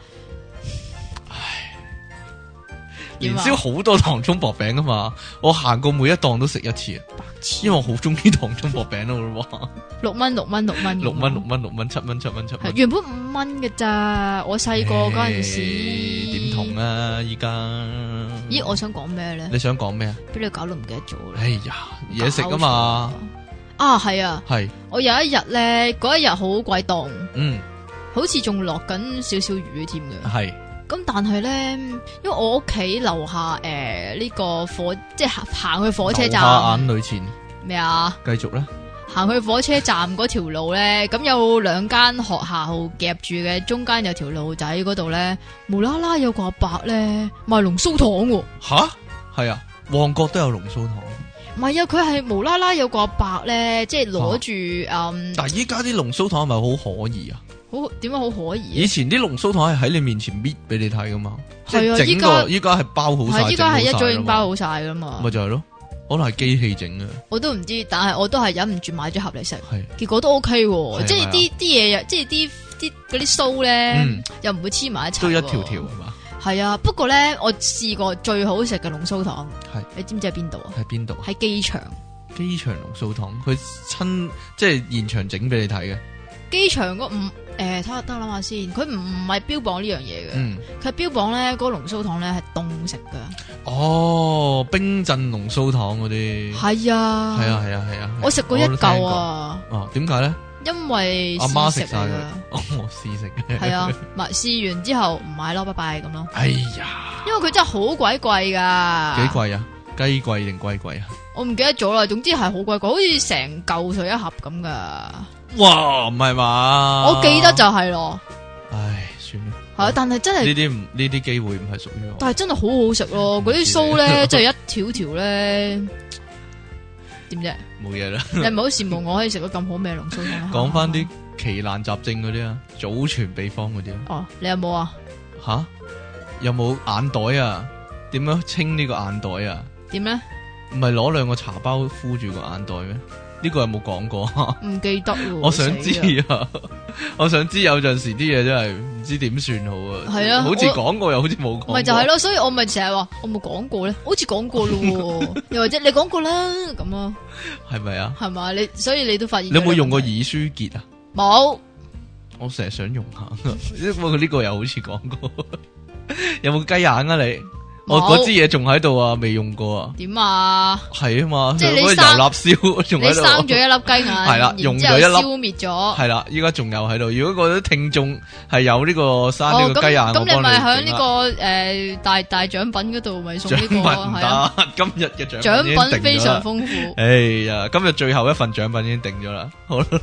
年宵好多糖蔥薄餅啊嘛，我行過每一檔都食一次啊，因為我好中意糖蔥薄餅咯。6蚊，6蚊，7蚊，原本5蚊嘅咋，我細個嗰陣時點同啊？依家咦，我想講咩咧？你想講咩啊？俾你搞到唔記得咗啦！哎呀，嘢食啊嘛，係啊，係我有一日咧，嗰一日好鬼凍，好似仲落緊少少雨添嘅，係。咁但係咧，因為我屋企樓下呢個即係行去火車站，眼淚錢咩啊？繼續啦，行去火車站嗰條路咧，咁有2間學校夾住嘅，中間有條路仔嗰度咧，無啦啦有個阿伯咧賣龍鬚糖喎。吓？係啊，旺角都有龍鬚糖。唔係啊，佢係無啦啦有個阿伯咧，即係攞住但係依家啲龍鬚糖係咪好可疑啊？點解好可疑？以前啲龍鬚糖係喺你面前搣俾你睇噶嘛，係啊，依家係包好晒，依家係一早已經包好晒噶嘛，咪就係咯，可能係機器整嘅，我都唔知，但係我都係忍唔住買咗盒嚟食，結果都 OK，即係啲嘢，即係啲嗰啲鬚咧，又唔會黐埋一齊，都一條條係嘛？係啊，不過咧，我試過最好食嘅龍鬚糖，係你知唔知喺邊度啊？喺邊度？喺機場。 機場龍鬚糖，佢親即係現場整俾你睇嘅。 機場嗰睇下得諗下先，佢唔係標榜呢樣嘢嘅，佢標榜咧嗰個龍鬚糖咧係凍食噶。 哦，冰鎮龍鬚糖嗰啲。係啊， 係啊， 我食過一嚿啊。 哦，點解咧？ 因為阿媽食晒㗎，我試食嘅。 係啊，試完之後唔買咯，拜拜咁咯。 哎呀， 因為佢真係好鬼貴噶。 幾貴啊？雞貴定龜貴啊？ 我唔記得咗啦，總之係好鬼貴，好似成嚿水一盒咁噶。 哇，唔係嘛？ 我記得就係咯。 唉，算啦。 係啊，但係真係呢啲機會唔係屬於我。 但係真係好好食咯，嗰啲酥咧，即係一條條咧，點啫？ 冇嘢啦。 你唔係好羨慕我可以食到咁好味嘅龍鬚糖？ 講翻啲奇難雜症嗰啲啊，祖傳秘方嗰啲啊。 哦，你有冇啊？ 吓？有冇眼袋啊？點樣清呢個眼袋啊？ 點咧？ 唔係攞2個茶包敷住個眼袋咩？呢個有冇講過？ 唔記得喎。 我想知啊，我想知有陣時啲嘢真係唔知點算好啊。 係啊， 好似講過又好似冇講過。 咪就係咯，所以我咪成日話我冇講過咧，好似講過咯，又或者你講過啦咁啊？ 係咪啊？係嘛？所以你都發現。 你有冇用過耳舒潔啊？ 冇。 我成日想用下，不過呢個又好似講過。有冇雞眼啊你？我嗰支嘢仲喺度啊，未用過啊。點啊？係啊嘛， 即係你油蠟燒仲喺度。你生咗一粒雞眼， 係啦，用咗一粒，消滅咗。 係啦，依家仲有喺度。如果嗰啲聽眾係有呢個生呢個雞眼，咁你咪喺呢個大獎品嗰度咪送呢個係啊？ 今日嘅獎品非常豐富。 哎呀，今日最後一份獎品已經定咗啦。好啦。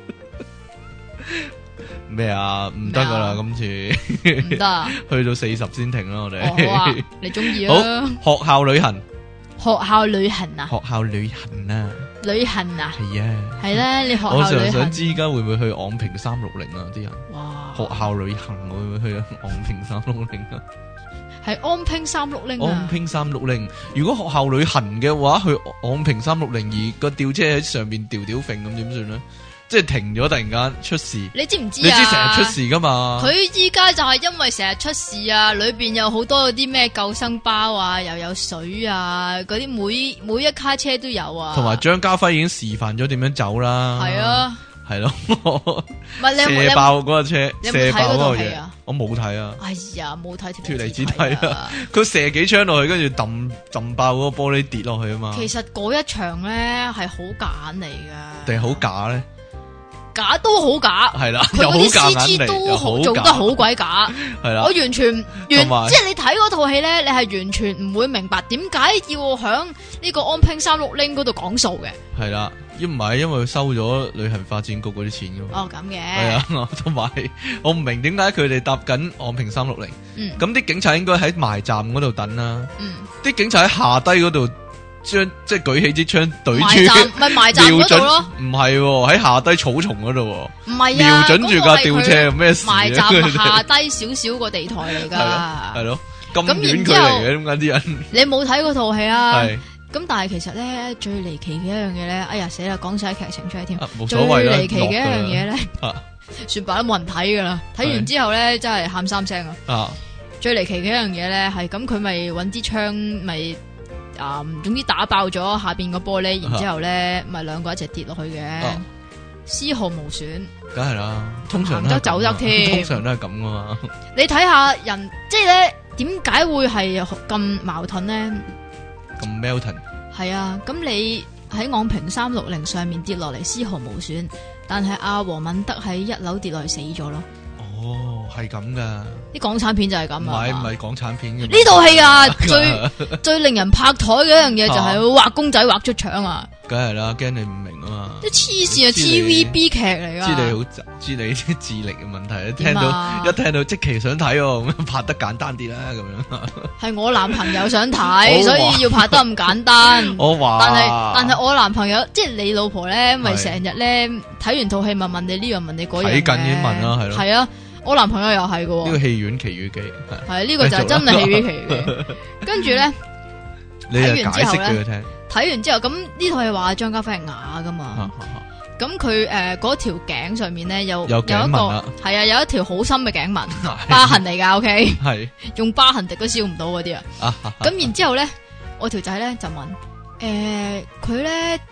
咩啊？唔得噶啦，今次唔得啊！去到40先停啦，我哋。 好啊，你中意啊？ 好，學校旅行。 學校旅行啊？ 學校旅行啊？ 旅行啊？ 係啊。係咧，你學校旅行。 我成日想知而家會唔會去昂坪360啊？啲人。 哇！ 學校旅行會唔會去昂坪360啊？ 係昂坪360啊？ 昂坪360，如果學校旅行嘅話，去昂坪360，而個吊車喺上面吊揈咁點算咧？即係停咗，突然間出事， 你知唔知啊？ 你知成日出事噶嘛？ 佢依家就係因為成日出事啊，裏邊有好多嗰啲咩救生包啊，又有水啊，嗰啲每一卡車都有啊。同埋張家輝已經示範咗點樣走啦。係啊，係咯。 唔係你射爆嗰架車， 你有冇睇嗰套戲啊？ 我冇睇啊。 哎呀，冇睇脫離子睇啊！佢射幾槍落去，跟住抌爆嗰個玻璃跌落去啊嘛。其實嗰一場咧係好假嚟噶， 定係好假咧？ 假都好假，係啦，佢嗰啲 CG 都做得好鬼假，係啦，我完全即係你睇嗰套戲咧，你係完全唔會明白點解要響呢個昂坪360嗰度講數嘅，係啦， 唔係因為佢收咗旅行發展局嗰啲錢噶嘛， 哦咁嘅， 係啊，同埋我唔明點解佢哋搭緊昂坪360，咁啲警察應該喺埋站嗰度等啦，啲警察喺下低嗰度。即係舉起支槍對住， 咪埋站嗰度咯？ 唔係喺下低草叢嗰度， 唔係瞄準住架吊車，咩事？ 埋站下低少少個地台嚟噶， 係咯，咁遠距離嘅，點解啲人？ 你冇睇嗰套戲啊？ 係咁，但係其實咧最離奇嘅一樣嘢咧，哎呀死啦，講晒劇情出嚟添， 冇所謂啦。 最離奇嘅一樣嘢咧，算罷都冇人睇噶啦，睇完之後咧真係喊3聲啊！最離奇嘅一樣嘢咧係咁，佢咪搵支槍咪。總之打爆咗下邊個玻璃，然之後咧，咪兩個一齊跌落去嘅，絲毫無損。梗係啦，通常都走得添，通常都係咁噶嘛。你睇下人，即係咧，點解會係咁矛盾咧？咁 Melton 係啊，咁你喺昂坪360上面跌落嚟絲毫無損，但係阿黃敏德喺1樓跌落嚟死咗咯。哦，係咁噶，啲港產片就係咁啊，唔係港產片嘅呢套戲啊，最令人拍台嘅一樣嘢就係畫公仔畫出腸啊，梗係啦，驚你唔明啊嘛，啲黐線啊 TVB 劇嚟噶，知你啲智力嘅問題，一聽到即期想睇咁拍得簡單啲啦，咁樣係我男朋友想睇，所以要拍得咁簡單。我話，但係我男朋友即係你老婆咧，咪成日咧睇完套戲問你呢樣問你嗰樣，睇緊已經問啦，係咯，係啊。我男朋友又係嘅，呢個戲院奇遇記係呢個就係真係戲院奇遇記。跟住咧，睇完之後咧，睇完之後咁呢套係話張家輝係啞噶嘛？咁佢嗰條頸上面咧有一個係啊，有一條好深嘅頸紋，疤痕嚟噶。OK，係用疤痕滴都燒唔到嗰啲啊。咁然之後咧，我條仔咧就問佢咧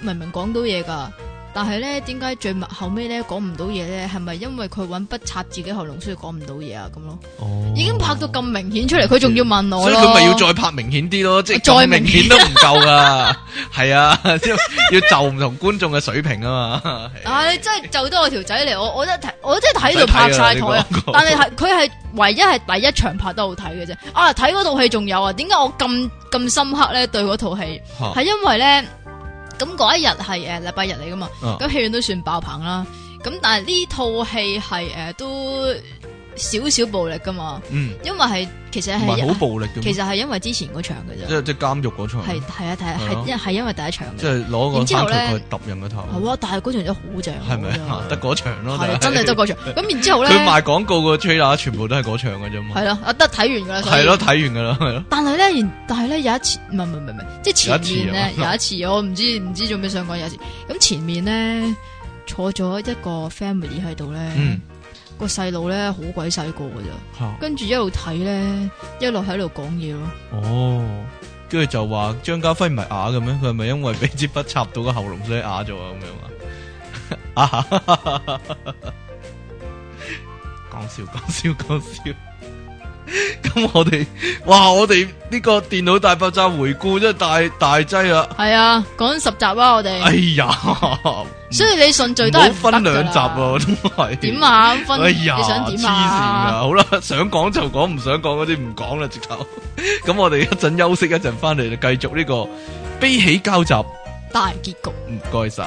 明明講到嘢噶，但係咧點解最後尾咧講唔到嘢咧？係咪因為佢揾筆插自己喉嚨，所以講唔到嘢啊？咁咯，已經拍到咁明顯出嚟，佢仲要問我咯， 所以佢咪要再拍明顯啲咯，即係再明顯都唔夠噶，係啊，要就唔同觀眾嘅水平啊嘛。 你真係就得我條仔嚟，我真係睇到拍晒台啊！但係佢係唯一係第一場拍得好睇嘅啫。睇嗰套戲仲有啊？點解我咁深刻咧？對嗰套戲係因為咧。咁嗰一日係禮拜日嚟噶嘛，咁戲院都算爆棚啦。咁但係呢套戲係都少少暴力噶嘛，因為係其實係好暴力嘅， 其實係因為之前嗰場嘅啫， 即係監獄嗰場， 係因為第一場嘅， 即係攞個三腳去揼人個頭。 係啊，但係嗰場真係好正，係咪得嗰場咯？ 係真係得嗰場。咁然之後咧， 佢賣廣告個 trailer 全部都係嗰場嘅啫嘛。 係咯，得睇完噶啦。 係咯，睇完噶啦，係咯。 但係咧有一次，唔係，即係前面咧有一次，我唔知做咩想講有一次。咁前面咧坐咗一個 family 喺度咧。個細路咧好鬼細個噶咋，跟住一路睇咧，一路喺度講嘢咯。哦， 跟住就話張家輝唔係啞嘅咩？佢係咪因為俾支筆插到個喉嚨所以啞咗啊？咁樣啊？講笑。咁我哋呢個電腦大爆炸回顧真係大劑啊！ 係啊，講10集啊，我哋。 哎呀， 所以你順序都係分2集啊，都係。 點啊？分？ 哎呀， 你想點啊？ 黐線噶，好啦，想講就講，唔想講嗰啲唔講啦，直頭。咁我哋一陣休息一陣，翻嚟就繼續呢個悲喜交集大結局。 唔該晒。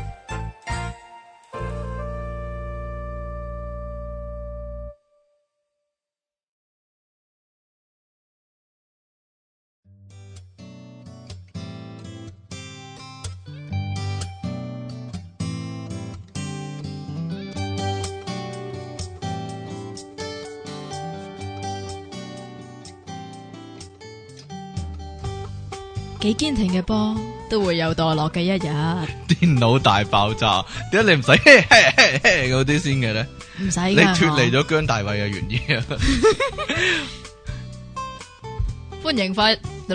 幾堅挺嘅波都會有墮落嘅一日。 電腦大爆炸，點解你唔使嗰啲先嘅咧？ 唔使， 你脫離咗姜大衛嘅原意啊！ 歡迎翻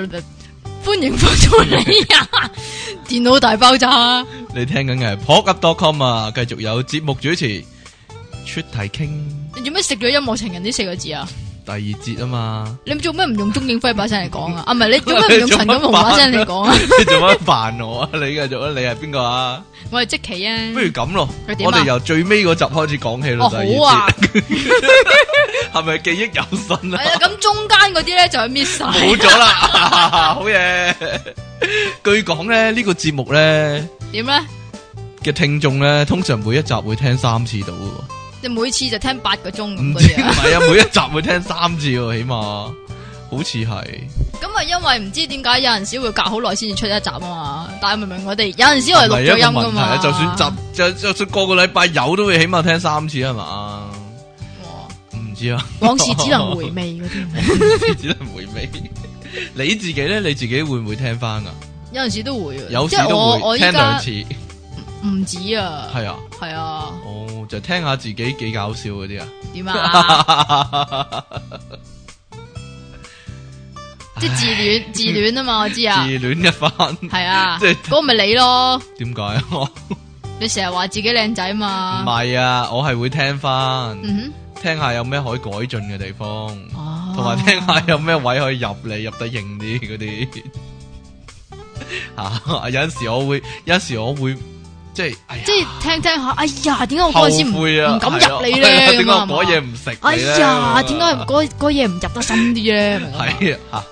到嚟啊！電腦大爆炸， 你聽緊嘅係 PodUp.com 啊！繼續有節目主持出題傾。 你做咩食咗音樂情人呢4個字啊？ 第二節啊嘛， 你做咩唔用鐘景輝把聲嚟講啊？唔係你做咩唔用陳錦鴻把聲嚟講啊？ 你做乜扮我啊？你繼續啊！你係邊個啊？ 我係積淇啊！ 不如咁咯，我哋由最尾嗰集開始講起咯。 好啊， 係咪記憶猶新啊？ 係啊，咁中間嗰啲咧就係 miss 晒， 冇咗啦，好嘢！據講咧呢個節目咧點咧嘅聽眾咧，通常每一集會聽3次到。 你每次就聽8個鐘咁唔知唔係啊，每一集會聽3次喎，起碼好似係。 咁啊，因為唔知點解有陣時會隔好耐先至出一集啊嘛。但係明明我哋有陣時我哋錄咗音噶嘛。 就算就算個個禮拜有都會起碼聽3次係嘛？唔知啊。 往事只能回味嗰啲。 往事只能回味。你自己咧，你自己會唔會聽翻噶？ 有陣時都會， 有時都會聽2次。 唔止啊。 係啊。 係啊。 就聽下自己幾搞笑嗰啲啊？ 點啊？即係自戀啊嘛，我知啊。 自戀一番。 係啊， 即係嗰個咪你咯。 點解啊？ 你成日話自己靚仔嘛？ 唔係啊，我係會聽翻，聽下有咩可以改進嘅地方，同埋聽下有咩位可以入得型啲嗰啲。有陣時我會。即係聽下，哎呀，點解我嗰陣時唔敢入你咧？ 點解我嗰嘢唔食？ 哎呀，點解嗰嘢唔入得深啲咧？ 係啊，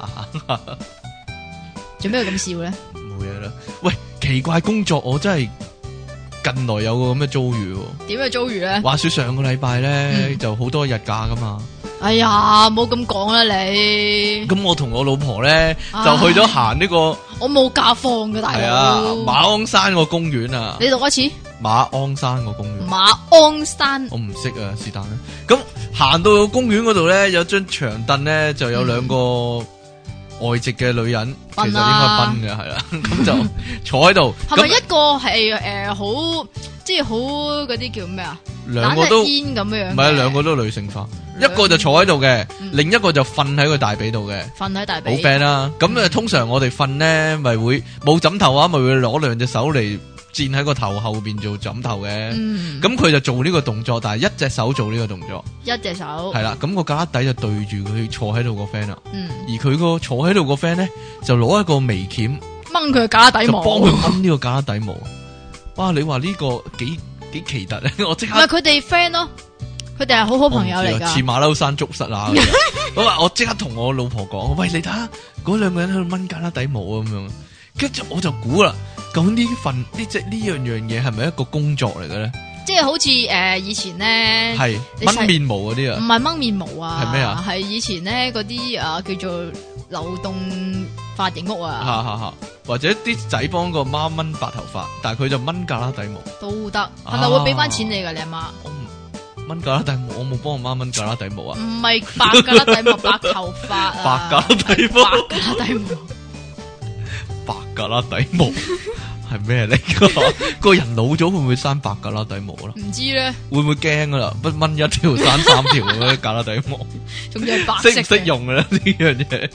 做咩咁笑咧？ 冇嘢啦。喂，奇怪工作，我真係近來有個咁嘅遭遇。 點嘅遭遇咧？ 話說上個禮拜咧，就好多日假噶嘛。 哎呀，唔好咁講啦你。 咁我同我老婆咧就去咗行呢個， 我冇假放嘅大佬。係啊，馬鞍山個公園啊。 你讀一次。馬鞍山個公園。 馬鞍山。 我唔識啊，是但啦。咁行到公園嗰度咧，有張長凳咧，就有2個外籍嘅女人，其實應該賓嘅係啦，咁就坐喺度。 係咪一個係好即係好嗰啲叫咩啊？ 兩個都煙咁樣， 唔係兩個都女性化，一個就坐喺度嘅，另一個就瞓喺個大髀度嘅， 瞓喺大髀。 好 friend 啦。咁通常我哋瞓咧，咪會冇枕頭啊，咪會攞兩隻手嚟墊喺個頭後邊做枕頭嘅。咁佢就做呢個動作，但係一隻手做呢個動作， 一隻手係啦。咁個架底就對住佢坐喺度個 friend 啦。而佢個坐喺度個 friend 咧，就攞一個眉鉗掹佢架底毛， 就幫佢掹呢個架底毛。哇！你話呢個幾奇特咧？我即刻唔係佢哋 friend 咯，佢哋係好朋友嚟噶， 似馬騮山捉虱啊！我即刻同我老婆講：喂，你睇下嗰兩個人喺度掹架底毛啊咁樣。跟住我就估啦，究竟呢樣嘢係咪一個工作嚟嘅咧？ 即係好似以前咧， 係掹面毛嗰啲啊？ 唔係掹面毛啊？ 係咩啊？ 係以前咧嗰啲叫做流動髮型屋啊。 或者啲仔幫個媽掹白頭髮，但係佢就掹架底毛都得，係咪會俾翻錢你噶？你阿媽？ 我掹架底毛，我冇幫我媽掹架底毛啊！ 唔係白架底毛，白頭髮啊！ 白架底毛， 白架底毛， 白架底毛係咩嚟？個人老咗會唔會生白架底毛啦？ 唔知咧， 會唔會驚噶啦？不掹一條生三條嗰啲架底毛， 仲要係白色， 識唔識用噶啦呢樣嘢？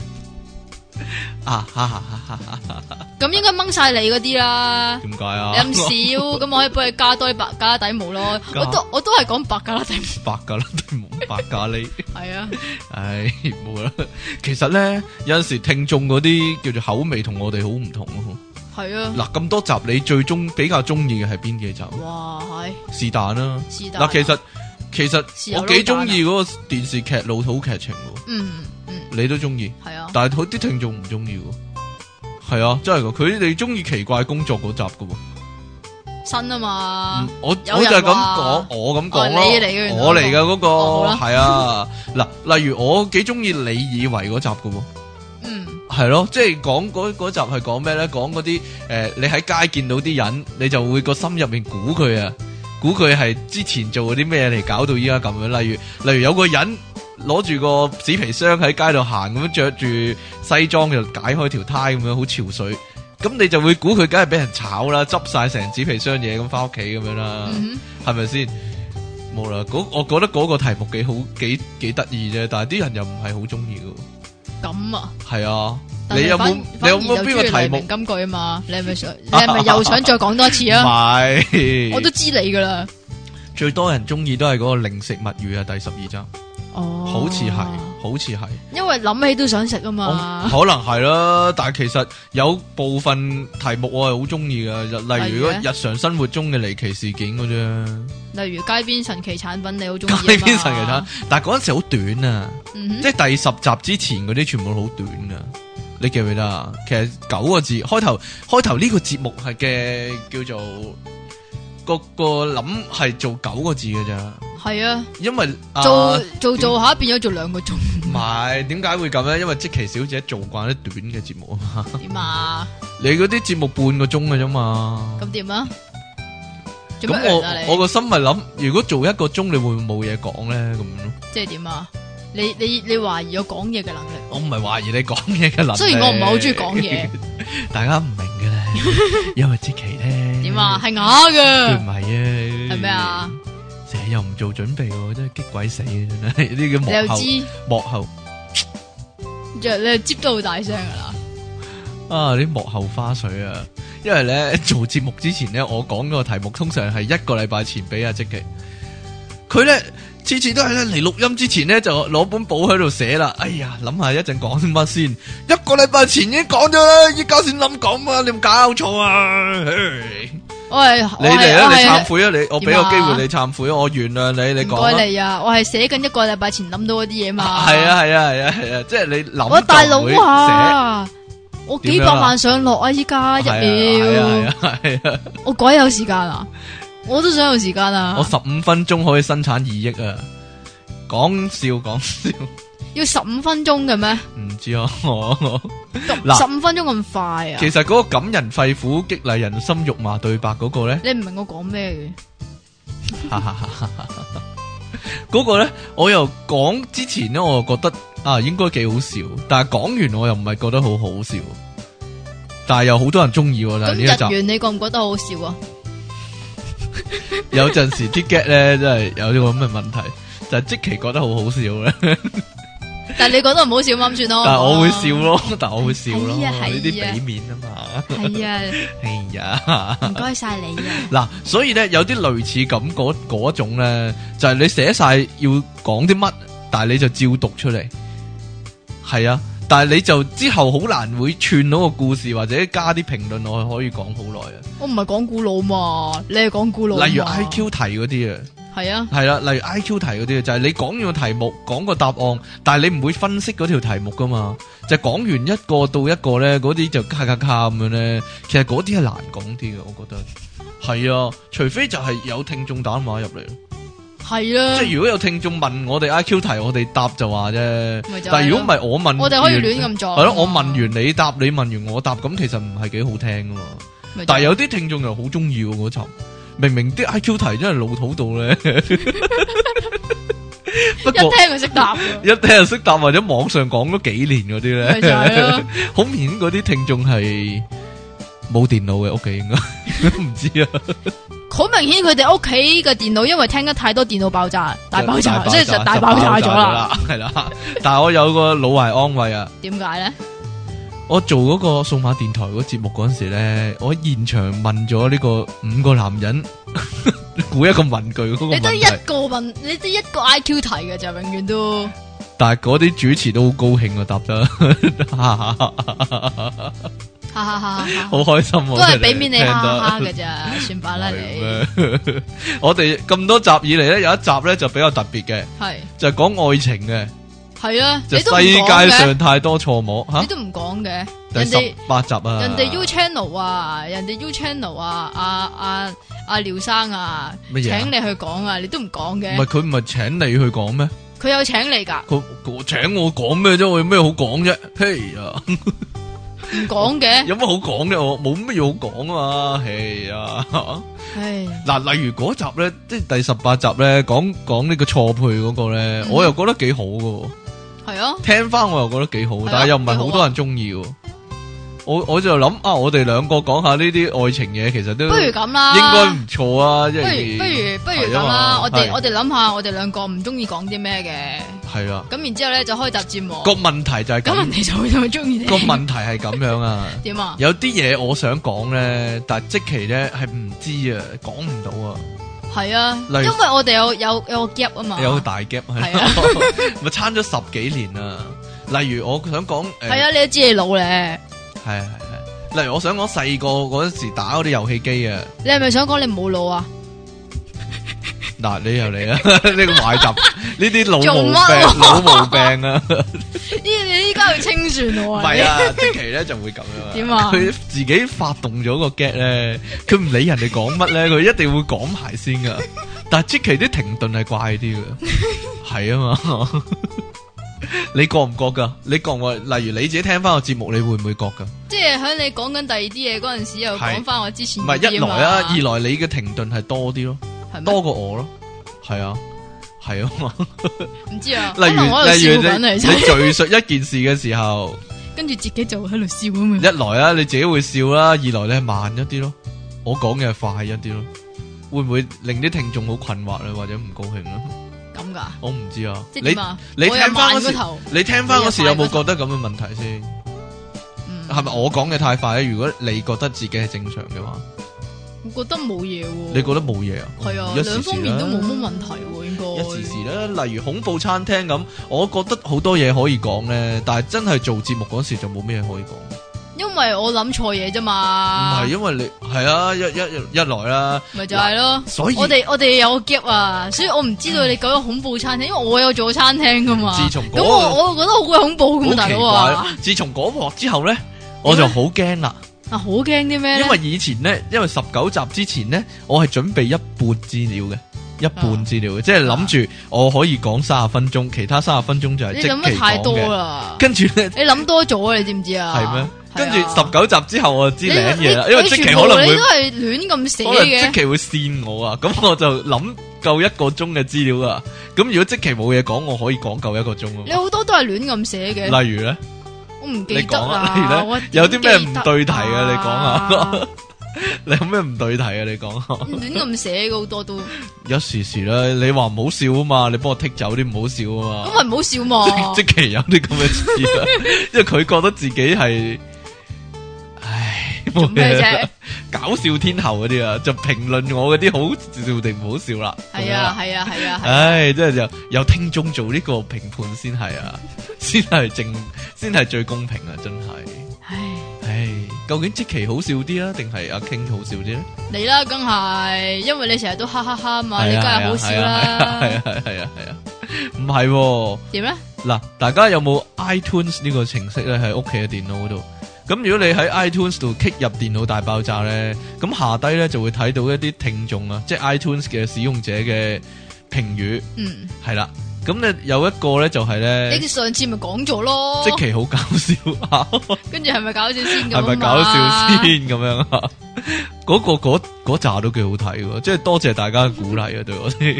咁應該掹晒你嗰啲啦。 點解啊？ 你咁少，咁我可以幫你加多啲白加底毛咯。我都係講白加底毛。白加底毛，白咖喱。 係啊。 唉，冇啦。其實咧，有陣時聽眾嗰啲叫做口味同我哋好唔同咯。 係啊。嗱， 咁多集，你最比較中意嘅係邊幾集？ 哇，係。 是但啦。是但。嗱，其實我幾中意嗰個電視劇老土劇情喎。你都中意，係啊，但係佢啲聽眾唔中意喎，係啊，真係噶，佢哋中意奇怪工作嗰集噶喎， 新啊嘛， 我就係咁講，我咁講咯，我嚟嘅嗰個係啊，嗱，例如我幾中意你以為嗰集噶喎，係咯，即係講嗰集係講咩咧？講嗰啲你喺街見到啲人，你就會個心入面估佢啊，估佢係之前做嗰啲咩嚟搞到依家咁樣，例如有個人。攞住個紙皮箱喺街度行咁樣，着住西裝就解開條呔咁樣，好潮水。咁你就會估佢梗係俾人炒啦，執晒成紙皮箱嘢咁翻屋企咁樣啦，係咪先？冇啦，我覺得嗰個題目幾好，幾得意啫。但係啲人又唔係好中意噶。咁啊？係啊。你有冇邊個題目？ 金句啊嘛？你係咪又想再講多一次啊？唔係，我都知你噶啦。 最多人中意都係嗰個零食物語啊，第12集。哦，好似係，因為諗起都想食啊嘛。 可能係啦，但係其實有部分題目我係好中意嘅，例如日常生活中嘅離奇事件嗰啫。 例如街邊神奇產品，你好中意。 街邊神奇產品，但係嗰陣時好短啊，即係第10集之前嗰啲全部好短啊。你記唔記得啊？其實9個字，開頭呢個節目係嘅叫做個諗係做9個字嘅咋。係啊，因為做下變咗做2個鐘。 唔係，點解會咁咧？因為積淇小姐做慣啲短嘅節目啊嘛。點啊？你嗰啲節目半個鐘嘅啫嘛。咁點啊？咁我個心咪諗，如果做1個鐘，你會唔會冇嘢講咧？咁咯。即係點啊？你懷疑我講嘢嘅能力？我唔係懷疑你講嘢嘅能力。雖然我唔係好中意講嘢，大家唔明嘅咧，因為積淇咧點啊？係啞嘅。佢唔係啊。係咩啊？成日又唔做準備，真係激鬼死嘅，真係呢個幕後。你又知幕後，你接得好大聲噶啦！啊，啲幕後花絮啊！因為咧做節目之前咧，我講嗰個題目通常係1個禮拜前俾阿積淇，佢咧次次都係咧嚟錄音之前咧就攞本簿喺度寫啦。哎呀，諗下一陣講啲乜先？1個禮拜前已經講咗啦，依家先諗講啊！你唔搞錯啊！你嚟啊！你懺悔啊！我俾個機會你懺悔啊！我原諒你，你講啊！唔該你啊！我係寫緊1個禮拜前諗到嗰啲嘢嘛。係啊！即係你諗。我大佬啊！我幾百萬上落啊！依家1秒。係啊！我鬼有時間啊！我都想有時間啊！我15分鐘可以生產2億啊！講笑。要15分鐘嘅咩？唔知啊，15分鐘咁快啊！其實嗰個感人肺腑、激勵人心、肉麻對白嗰個咧，你唔明我講咩嘅？嗰個咧，我又講之前咧，我又覺得啊，應該幾好笑，但係講完我又唔係覺得好好笑，但係又好多人中意喎。咁日元你覺唔覺得好笑啊？ 有陣時啲 get 咧真係有呢個咁嘅問題，就係積淇覺得好好笑咧。 但係你覺得唔好笑咁算咯。 但係我會笑咯，但係我會笑咯， 呢啲俾面啊嘛。 係啊， 係啊， 唔該晒你啊。 嗱，所以咧有啲類似咁嗰種咧，就係你寫晒要講啲乜，但係你就照讀出嚟。係啊，但係你就之後好難會串到個故事，或者加啲評論落去，可以講好耐啊。 我唔係講古佬嘛，你係講古佬。 例如 IQ 題嗰啲啊。 係啊， 係啦，例如 IQ 題嗰啲就係你講完個題目，講個答案，但係你唔會分析嗰條題目噶嘛，就講完一個到一個咧，嗰啲就卡咁樣咧，其實嗰啲係難講啲嘅，我覺得係啊，除非就係有聽眾打電話入嚟， 係啊， 即係如果有聽眾問我哋 IQ 題，我哋答就話啫，但係如果唔係我問， 我哋可以亂咁做， 係咯，我問完你答，你問完我答，咁其實唔係幾好聽噶嘛，但係有啲聽眾又好中意嗰集。明明啲 IQ 題真係老土到咧，不過一聽就識答， 一聽就識答，或者網上講咗幾年嗰啲咧，好明顯嗰啲聽眾係冇電腦嘅屋企，應該唔知啊。 好明顯佢哋屋企嘅電腦因為聽得太多電腦爆炸，大爆炸，即係就大爆炸咗啦。 係啦，但係我有個老懷安慰啊。 點解咧？ 我做嗰個數碼電台嗰個節目嗰陣時咧，我喺現場問咗呢個5個男人估一個文具嗰個問題。你得一個 IQ 題嘅就永遠都。但係嗰啲主持都好高興啊，答得，好開心啊！ 都係俾面你哈哈嘅咋，算罷啦你。 我哋咁多集以嚟咧，有一集咧就比較特別嘅，係就係講愛情嘅。係啊，就世界上太多錯摸吓，你都唔講嘅。第18集啊，人哋 U Channel 啊，人哋 U Channel 啊，阿廖生啊，請你去講啊，你都唔講嘅。唔係佢唔係請你去講咩？佢有請你噶。佢請我講咩啫？我有咩好講啫？嘿啊，唔講嘅。有乜好講嘅？我冇乜嘢好講啊嘛。係啊。係嗱，例如嗰集咧，即係第18集咧，講呢個錯配嗰個咧，我又覺得幾好噶。係啊，聽翻我又覺得幾好，但係又唔係好多人中意。我就諗啊，我哋兩個講下呢啲愛情嘢，其實都不如咁啦，應該唔錯啊。不如咁啦，我哋諗下，我哋兩個唔中意講啲咩嘅。係啊，咁然之後咧就開集節目。個問題就係咁，人哋就會中意你。個問題係咁樣啊？點啊？有啲嘢我想講咧，但係即期咧係唔知啊，講唔到啊。係啊，因為我哋有個 gap 啊嘛，有個大 gap 係啊，咪差咗10幾年啊。例如我想講，係啊，你都知你老咧，係。例如我想講細個嗰陣時打嗰啲遊戲機啊，你係咪想講你冇腦啊？嗱，你又嚟啊！呢個壞習，呢啲老毛病啊！你依家要清算我啊！唔係啊，即期咧就會咁樣。點啊？佢自己發動咗個 get 咧，佢唔理人哋講乜咧，佢一定會講埋先噶。但係即期啲停頓係怪啲嘅，係啊嘛。你覺唔覺噶？你覺唔覺？例如你自己聽翻個節目，你會唔會覺噶？即係喺你講緊第二啲嘢嗰陣時，又講翻我之前。唔係一來啊，二來你嘅停頓係多啲咯。多過我咯，係啊，係啊嘛，唔知啊。例如你敘述一件事嘅時候，跟住自己就喺度笑咁樣。一來啊，你自己會笑啦；二來你係慢一啲咯，我講嘅係快一啲咯。會唔會令啲聽眾好困惑咧，或者唔高興咧？咁噶？我唔知啊。你聽翻嗰時，你聽翻嗰時有冇覺得咁嘅問題先？係咪我講嘅太快咧？如果你覺得自己係正常嘅話？我覺得冇嘢喎，你覺得冇嘢啊？係啊，兩方面都冇乜問題喎，應該一時時咧。例如恐怖餐廳咁，我覺得好多嘢可以講咧，但係真係做節目嗰時就冇咩可以講。因為我諗錯嘢啫嘛。唔係，因為你係啊，一來啦，咪就係咯。所以我哋有個 gap 啊，所以我唔知道你講咗恐怖餐廳，因為我有做餐廳噶嘛。自從咁我覺得好鬼恐怖噶嘛，大佬啊！自從嗰幕之後咧，我就好驚啦。啊，好驚啲咩？因為以前咧，因為19集之前咧，我係準備一半資料嘅，即係諗住我可以講30分鐘，其他30分鐘就係即期講嘅。你諗得太多啦！跟住咧，你諗多咗啊！你知唔知啊？係咩？跟住19集之後我就知領嘢啦，因為即期可能會，你都係亂咁寫嘅，可能即期會跣我啊！咁我就諗夠1個鐘嘅資料啊！咁如果即期冇嘢講，我可以講夠1個鐘啊！你好多都係亂咁寫嘅，例如咧。我唔記得啦，有啲咩唔對題啊？你講下。 你有咩唔對題啊？你講下。 亂咁寫嘅好多都。 有時啦，你話唔好笑啊嘛，你幫我剔走啲唔好笑啊嘛。 咁咪唔好笑嘛。 即其有啲咁嘅事啊，因為佢覺得自己係，唉， 做咩啫？ 搞笑天后嗰啲啊，就評論我嗰啲好笑定唔好笑啦。 係啊係啊係啊。 唉，真係有聽眾做呢個評判先係啊，先係最公平啊，真係。唉，究竟積淇好笑啲啊，定係阿 King 好笑啲咧？ 你啦，梗係，因為你成日都哈哈哈嘛，你梗係好笑啦。 係啊，唔係點咧？嗱，大家有冇 iTunes 呢個程式咧？喺屋企嘅電腦嗰度。咁如果你喺 iTunes 度 kick 入電腦大爆炸咧，咁下低咧就會睇到一啲聽眾啊，即係 iTunes 嘅使用者嘅評語。嗯，係啦。咁咧有一個咧就係咧，你上次咪講咗咯，積淇好搞笑啊！跟住係咪搞笑先？係咪搞笑先咁樣啊？嗰扎都幾好睇喎，即係多謝大家嘅鼓勵啊！對我哋，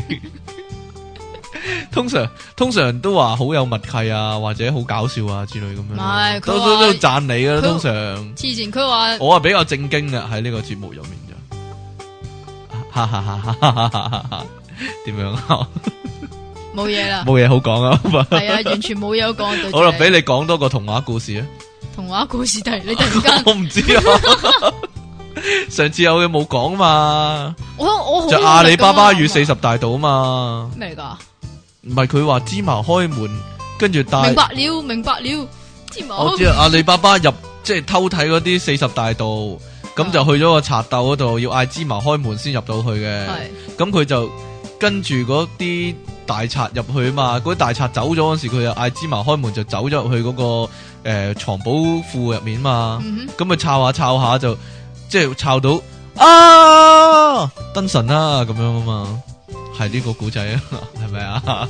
通常都話好有默契啊，或者好搞笑啊之類咁樣。唔係，都讚你噶啦，通常。黐線，佢話我係比較正經嘅喺呢個節目入面就，哈哈哈哈哈哈！點樣啊？冇嘢啦，冇嘢好講啊，係啊，完全冇嘢好講。好啦，俾你講多個童話故事啊！童話故事你突然間我唔知啊，上次有嘢冇講嘛？我就阿里巴巴與40大盜啊嘛？咩嚟噶？唔係佢話芝麻開門，跟住帶明白了，芝麻。我知阿里巴巴入即係偷睇嗰啲40大盜，咁就去咗個賊竇嗰度，要嗌芝麻開門先入到去嘅。咁佢就跟住嗰啲大賊入去啊嘛，嗰啲大賊走咗嗰時，佢就嗌芝麻開門，就走咗入去嗰個藏寶庫入面嘛。咁佢抄下就即係抄到啊燈神啦咁樣啊嘛，係呢個古仔啊，係咪啊？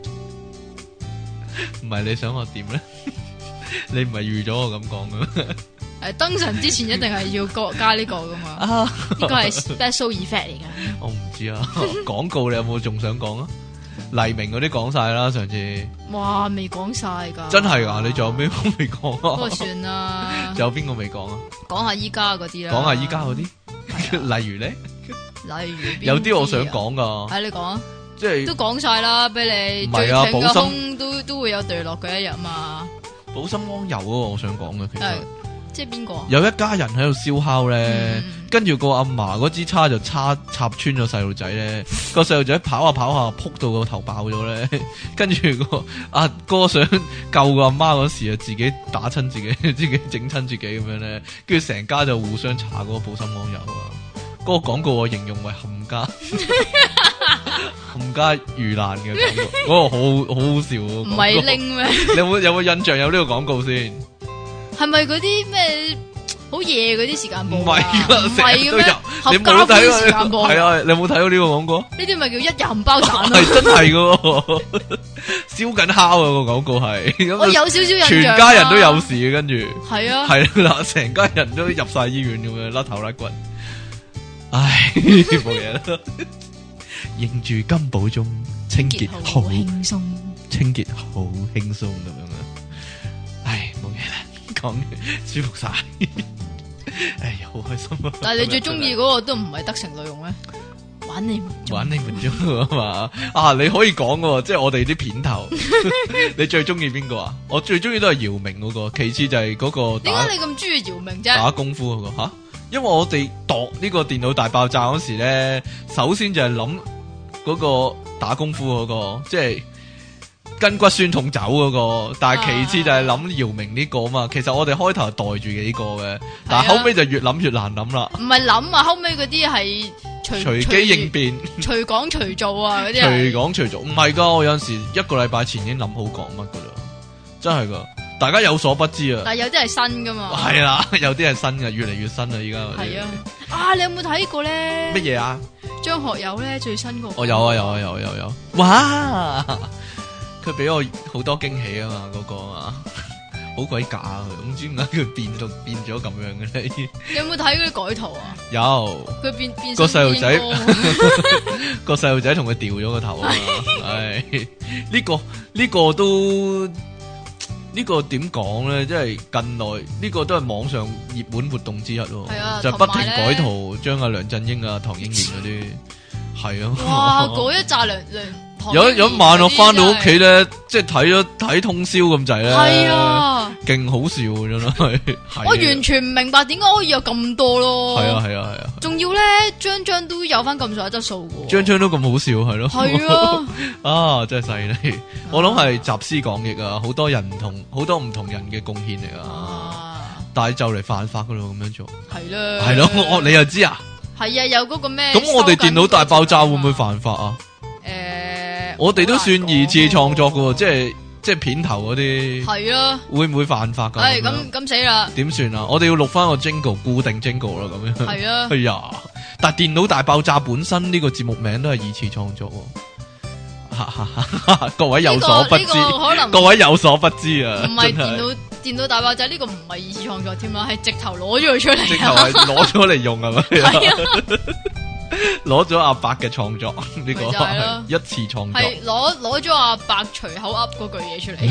唔係你想我點咧？你唔係預咗我咁講嘅咩？燈神之前一定係要加呢個噶嘛？呢個係 special effect 嚟噶。我唔知啊，廣告你有冇仲想講啊？黎明嗰啲講晒啦，上次。哇，未講晒噶。真係噶，你仲有咩未講啊？不過算啦。仲有邊個未講啊？講下依家嗰啲啦。講下依家嗰啲，例如咧？例如有啲我想講噶。係你講啊。即係都講晒啦，俾你。唔係啊，寶心都會有墜落嘅一日嘛。寶心安有啊，我想講嘅其實。即係邊個？有一家人喺度燒烤咧，跟住個阿嫲嗰支叉就插穿咗細路仔咧，個細路仔跑下跑下，撲到個頭爆咗咧，跟住個阿哥想救個阿媽嗰時啊，自己打親自己，自己整親自己咁樣咧，跟住成家就互相查嗰個寶心安友啊！嗰個廣告我形容為冚家冚家遇難嘅廣告，嗰個好好笑。唔係拎咩？你有冇印象有呢個廣告先？係咪嗰啲咩好夜嗰啲時間播？唔係噶，唔係嘅咩？合家歡時間播係啊！你有冇睇到呢個廣告？呢啲咪叫一日冚包散啊！係真係噶，燒緊烤啊個廣告係。我有少少印象。全家人都有事嘅，跟住係啊，係啦，成家人都入晒醫院咁樣，甩頭甩骨。唉，冇嘢啦。認住金寶鐘，清潔好輕鬆，清潔好輕鬆咁樣啊！唉，冇嘢啦。講舒服晒，哎呀，好開心啊！但係你最中意嗰個都唔係得成內容咩？玩你們中啊嘛！啊，你可以講嘅，即係我哋啲片頭。你最中意邊個啊？我最中意都係姚明嗰個，其次就係嗰個。點解你咁中意姚明啫？打功夫嗰個吓，因為我哋度呢個電腦大爆炸嗰時咧，首先就係諗嗰個打功夫嗰個，即係。筋骨酸痛走嗰個，但係其次就係諗姚明呢個啊嘛。其實我哋開頭係袋住幾個嘅，但係後尾就越諗越難諗啦。唔係諗啊，後尾嗰啲係隨機應變、隨講隨做啊嗰啲。隨講隨做，唔係噶，我有陣時一個禮拜前已經諗好講乜噶啦，真係噶，大家有所不知啊。但係有啲係新噶嘛。係啦，有啲係新嘅，越嚟越新啦，依家。係啊，啊你有冇睇過咧？乜嘢啊？張學友咧最新個。我有啊，有。哇！佢俾我好多驚喜啊嘛，嗰個啊，好鬼假啊！唔知點解佢變咗咁樣嘅咧？你有冇睇嗰啲改圖啊？有。佢變個細路仔，個細路仔同佢掉咗個頭啊！唉，呢個都呢個點講咧？即係近來呢個都係網上熱門活動之一咯。 係啊， 就不停改圖，將阿梁振英啊、唐英年嗰啲係啊。 哇！嗰一紮梁有一晚我翻到屋企咧，即係睇通宵咁滯咧， 係啊， 勁好笑真係。 我完全唔明白點解可以有咁多咯。 係啊， 仲要咧張都有翻咁上下質素嘅， 張都咁好笑係咯。 係啊， 啊真係犀利！我諗係集思廣益啊，好多唔同人嘅貢獻嚟啊。但係就嚟犯法噶咯，咁樣做係咯，你又知啊？係啊， 有嗰個咩？ 咁我哋電腦大爆炸會唔會犯法啊？我哋都算二次創作噶，即係片頭嗰啲，係啊，會唔會犯法噶？ 咁死啦！ 點算啊？我哋要錄翻個 jingle 固定 jingle 啦，咁樣係啊。哎呀，但係電腦大爆炸本身呢個節目名都係二次創作，各位有所不知，各位有所不知啊！ 唔係電腦大爆炸呢個唔係二次創作添啦，係直頭攞咗佢出嚟， 直頭係攞咗嚟用係咪？係啊。攞咗阿伯嘅創作呢個係一次創作， 係攞咗阿伯隨口噏嗰句嘢出嚟。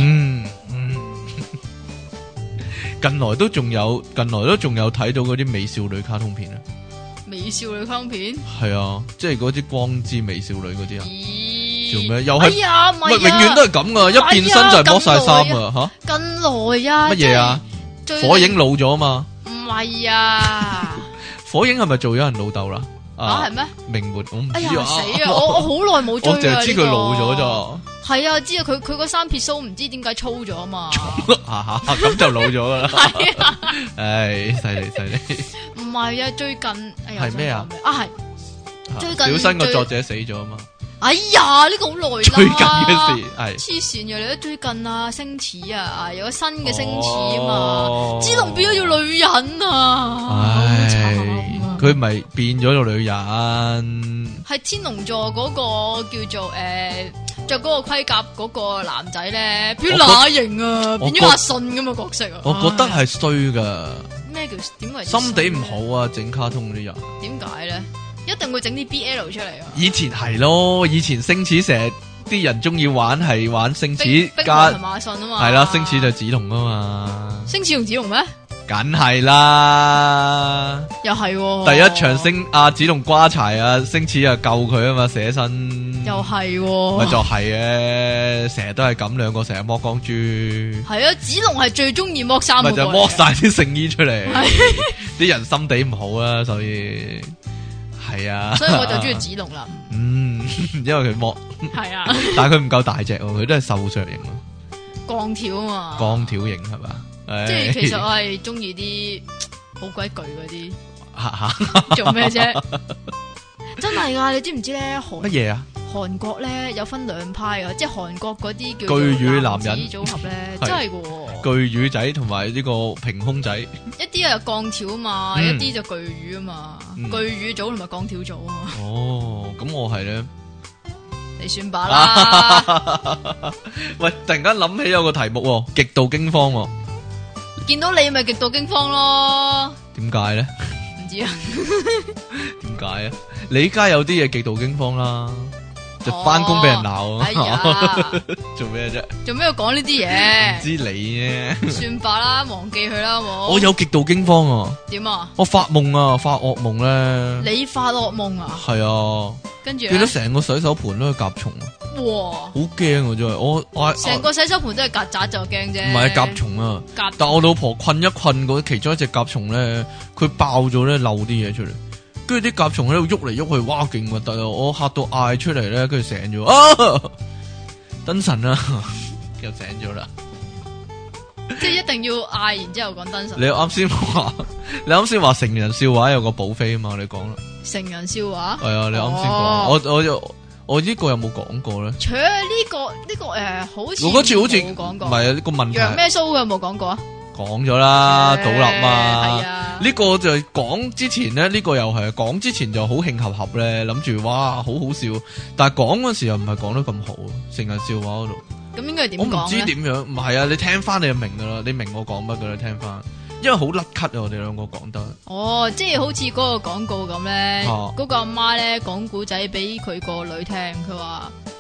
近來都仲有睇到嗰啲美少女卡通片啊！ 美少女卡通片係啊，即係嗰啲光之美少女嗰啲啊。做咩？又係咪永遠都係咁噶，一變身就係剝晒衫啊！吓， 近來啊， 乜嘢啊？火影老咗嘛？ 唔係啊， 火影係咪做咗人老豆啦？ 係咩？ 明末我唔知啊， 死啊！我好耐冇追啦， 我淨係知佢老咗咋。 係啊，知啊，佢個三撇鬚唔知點解粗咗啊嘛。 咁就老咗噶啦。係啊，唉，犀利。 唔係啊，最近係咩啊？ 係最近小新個作者死咗啊嘛。 哎呀，呢個好耐啦。 最近嘅事係黐線嘅，你都最近啊，星矢啊，有個新嘅星矢啊嘛，紫龍變咗做女人啊，好慘。 佢咪變咗做女人？ 係天龍座嗰個叫做着嗰個盔甲嗰個男仔咧，變乸型啊，變咗阿信咁嘅角色啊！ 我覺得係衰噶。 咩叫點為？ 心地唔好啊！整卡通嗰啲人點解咧？一定會整啲 BL 出嚟啊！ 以前係咯，以前星矢成日啲人中意玩係玩星矢加同馬信啊嘛， 係啦，星矢就紫龍啊嘛， 星矢同紫龍咩？ 梗係啦， 又係、哦、 第一場阿紫龍瓜柴啊，星矢啊救佢啊嘛，寫身又係、哦， 咪就係嘅，成日都係咁，兩個成日剝光豬， 係啊，紫龍係最中意剝衫， 咪就剝晒啲聖衣出嚟，啲人心地唔好啊，所以係啊， 所以我就中意紫龍啦， 因為佢剝係啊， 但係佢唔夠大隻，佢都係瘦削型咯， 鋼條啊嘛， 鋼條型係嘛？ 即係其實我係中意啲好鬼巨嗰啲，做咩啫？真係噶，你知唔知咧？ 乜嘢啊？ 韓國咧有分兩派噶，即係韓國嗰啲叫巨乳男人組合咧，真係噶。 巨乳仔同埋呢個平胸仔， 一啲係鋼條啊嘛，一啲就巨乳啊嘛，巨乳組同埋鋼條組啊嘛。 哦，咁我係咧， 你算吧啦。 喂，突然間諗起有個題目，極度驚慌。 見到你咪極度驚慌咯？點解咧？ 唔知啊？ 點解啊？你依家有啲嘢極度驚慌啦，就翻工俾人鬧啊！做咩啫？做咩要講呢啲嘢？唔知你啫。算罷啦，忘記佢啦，好冇？我有極度驚慌啊！點啊？我發夢啊，發噩夢咧。你發噩夢啊？係啊。跟住見到成個洗手盆都係甲蟲啊！哇，好驚啊！真係我成個洗手盆都係曱甴就驚啫，唔係甲蟲啊！但我老婆困一困嗰其中一隻甲蟲咧，佢爆咗咧，漏啲嘢出嚟，跟住啲甲蟲喺度喐嚟喐去，哇，勁核突啊！我嚇到嗌出嚟咧，跟住醒咗啊！燈神啊，又醒咗啦！即係一定要嗌，然之後講燈神。你啱先話成人笑話有個寶妃啊嘛，你講啦。成人笑話係啊，你啱先講，我呢個有冇講過咧？除咗呢個好似我嗰次好似冇講過，唔係啊，呢個問題楊咩蘇嘅有冇講過啊？講咗啦，倒立嘛，係啊。呢個就講之前咧，呢個又係講之前就好慶合合咧，諗住哇好好笑，但係講嗰時又唔係講得咁好，成人笑話嗰度。咁應該係點講咧？我唔知點樣，唔係啊，你聽翻你就明噶啦，你明我講乜噶啦，聽翻。因為好甩咳啊！我哋兩個講得哦，即係好似嗰個廣告咁咧，嗰個阿媽咧講古仔俾佢個女聽，佢話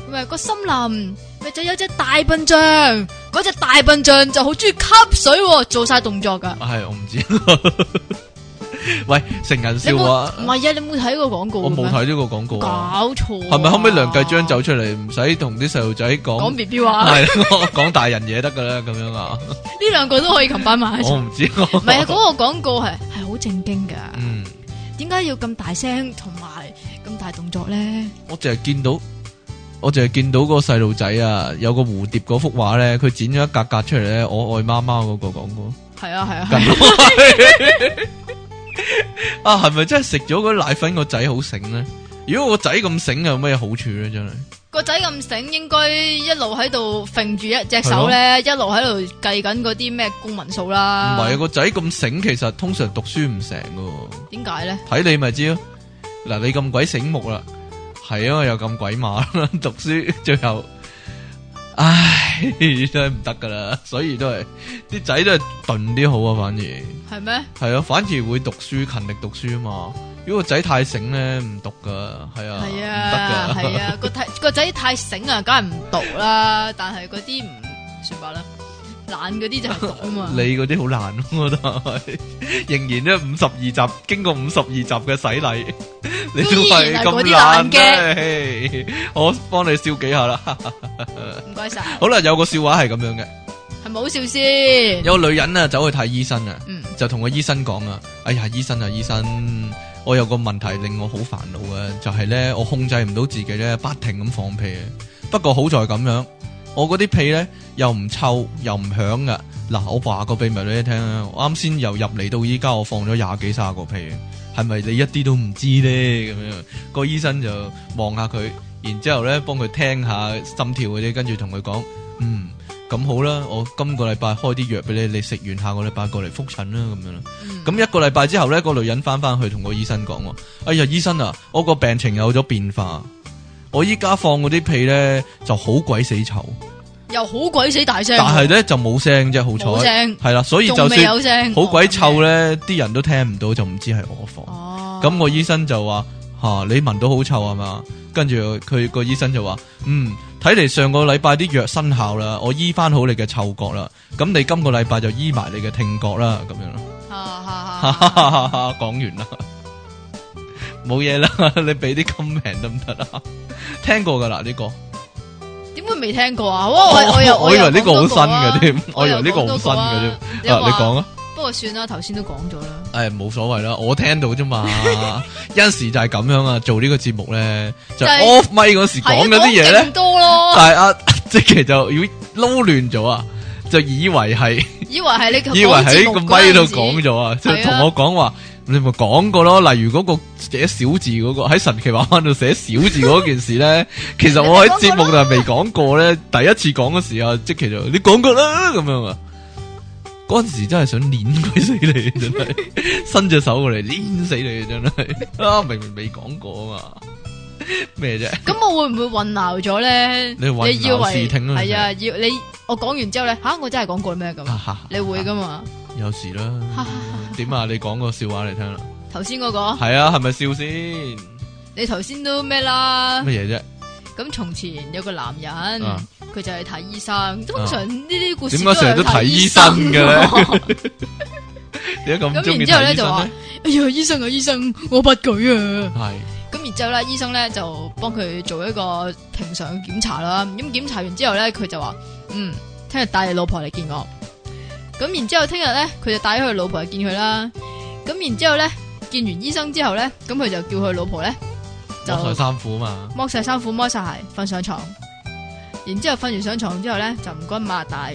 咪個森林咪就有隻大笨象，嗰隻大笨象就好中意吸水，做晒動作噶。 係我唔知。喂，成人笑話唔係啊？你冇睇過廣告？ 我冇睇呢個廣告。 搞錯。 係咪後尾梁繼章走出嚟，唔使同啲細路仔講 BB 話， 係講大人嘢得噶啦，咁樣啊？ 呢兩個都可以擒翻埋。我唔知。 唔係啊，嗰個廣告係好正經噶。嗯。點解要咁大聲同埋咁大動作咧？我淨係見到個細路仔啊，有個蝴蝶嗰幅畫咧，佢剪咗一格格出嚟咧，我愛媽媽嗰個廣告。係啊。啊，係咪真係食咗嗰啲奶粉個仔好醒咧？如果個仔咁醒有咩好處咧？真係個仔咁醒，應該一路喺度揈住一隻手咧，一路喺度計緊嗰啲咩公民數啦。唔係啊，個仔咁醒，其實通常讀書唔成噶。點解咧？睇你咪知咯。嗱，你咁鬼醒目啦，係啊，又咁鬼馬啦，讀書最後，唉，真係唔得噶啦。所以都係啲仔都係鈍啲好啊，反而係咩？係啊，反而會讀書，勤力讀書啊嘛。如果個仔太醒咧，唔讀噶，係啊，係啊，唔得噶，係啊，個仔太醒啊，梗係唔讀啦。但係嗰啲唔算吧啦，懶嗰啲就係讀啊嘛。你嗰啲好懶，我覺得仍然咧52集，經過52集嘅洗禮，你都係咁懶嘅。我幫你笑幾下啦，唔該晒。好啦，有個笑話係咁樣嘅，係咪好笑先？有個女人啊，走去睇醫生啊，就同個醫生講啊，哎呀，醫生啊，醫生。我有個問題令我好煩惱嘅，就係咧我控制唔到自己咧，不停咁放屁。不過好在咁樣，我嗰啲屁咧又唔臭又唔響噶。嗱，我話個秘密俾你聽啊，我啱先由入嚟到依家，我放咗20幾30個屁，係咪你一啲都唔知咧？咁樣個醫生就望下佢，然之後咧幫佢聽下心跳嗰啲，跟住同佢講，咁好啦，我今個禮拜開啲藥俾你，你食完下個禮拜過嚟復診啦，咁樣啦。咁一個禮拜之後咧，個女人翻去同個醫生講，哎呀，醫生啊，我個病情有咗變化，我依家放嗰啲屁咧就好鬼死臭，又好鬼死大聲，但係咧就冇聲啫，好彩係啦，所以就算好鬼臭咧，啲人都聽唔到，就唔知係我放。咁個醫生就話，你聞到好臭係嘛？跟住佢個醫生就話，睇嚟上個禮拜啲藥生效啦，我醫翻好你嘅嗅覺啦，咁你今個禮拜就醫埋你嘅聽覺啦，咁樣咯。講完啦，冇嘢啦，你俾啲 comment 得唔得啊？聽過噶啦呢個，點會未聽過啊？我以為呢個好新嘅添，我以為呢個好新嘅添。你講啊。不過算啦，頭先都講咗啦。冇所謂啦，我聽到啫嘛。有陣時就係咁樣啊，做呢個節目咧，就 off 咪嗰時講嗰啲嘢咧，多咯。但係即其就要撈亂咗啊，就以為係你以為喺個咪度講咗啊，就同我講話，你咪講過咯。例如嗰個寫小字嗰個喺神奇畫畫度寫小字嗰件事咧，其實我喺節目度係未講過咧。第一次講嗰時啊，即其就你講過啦咁樣啊。嗰陣時真係想碾鬼死你，真係伸隻手過嚟碾死你，真係明明未講過啊嘛，咩啫？咁我會唔會混淆咗咧？你以為視聽係啊？要你我講完之後咧，我真係講過咩咁？你會噶嘛？有時啦。點啊？你講個笑話嚟聽啦。頭先嗰個係啊？係咪笑先？你頭先都咩啦？乜嘢啫？咁從前有個男人，佢就係睇醫生。通常呢啲故事點解成日都睇醫生嘅咧？點解咁中意睇醫生咧？咁然之後咧就話：哎呀，醫生啊，醫生，我不舉啊！係。咁然之後咧，醫生咧就幫佢做一個平常嘅檢查啦。咁檢查完之後咧，佢就話：聽日帶你老婆嚟見我。咁然之後聽日咧，佢就帶咗佢老婆嚟見佢啦。咁然之後咧，見完醫生之後咧，咁佢就叫佢老婆咧。剝晒衫褲啊嘛，剝晒衫褲，剝晒鞋，瞓上床。然之後瞓完上床之後咧，就唔該擘大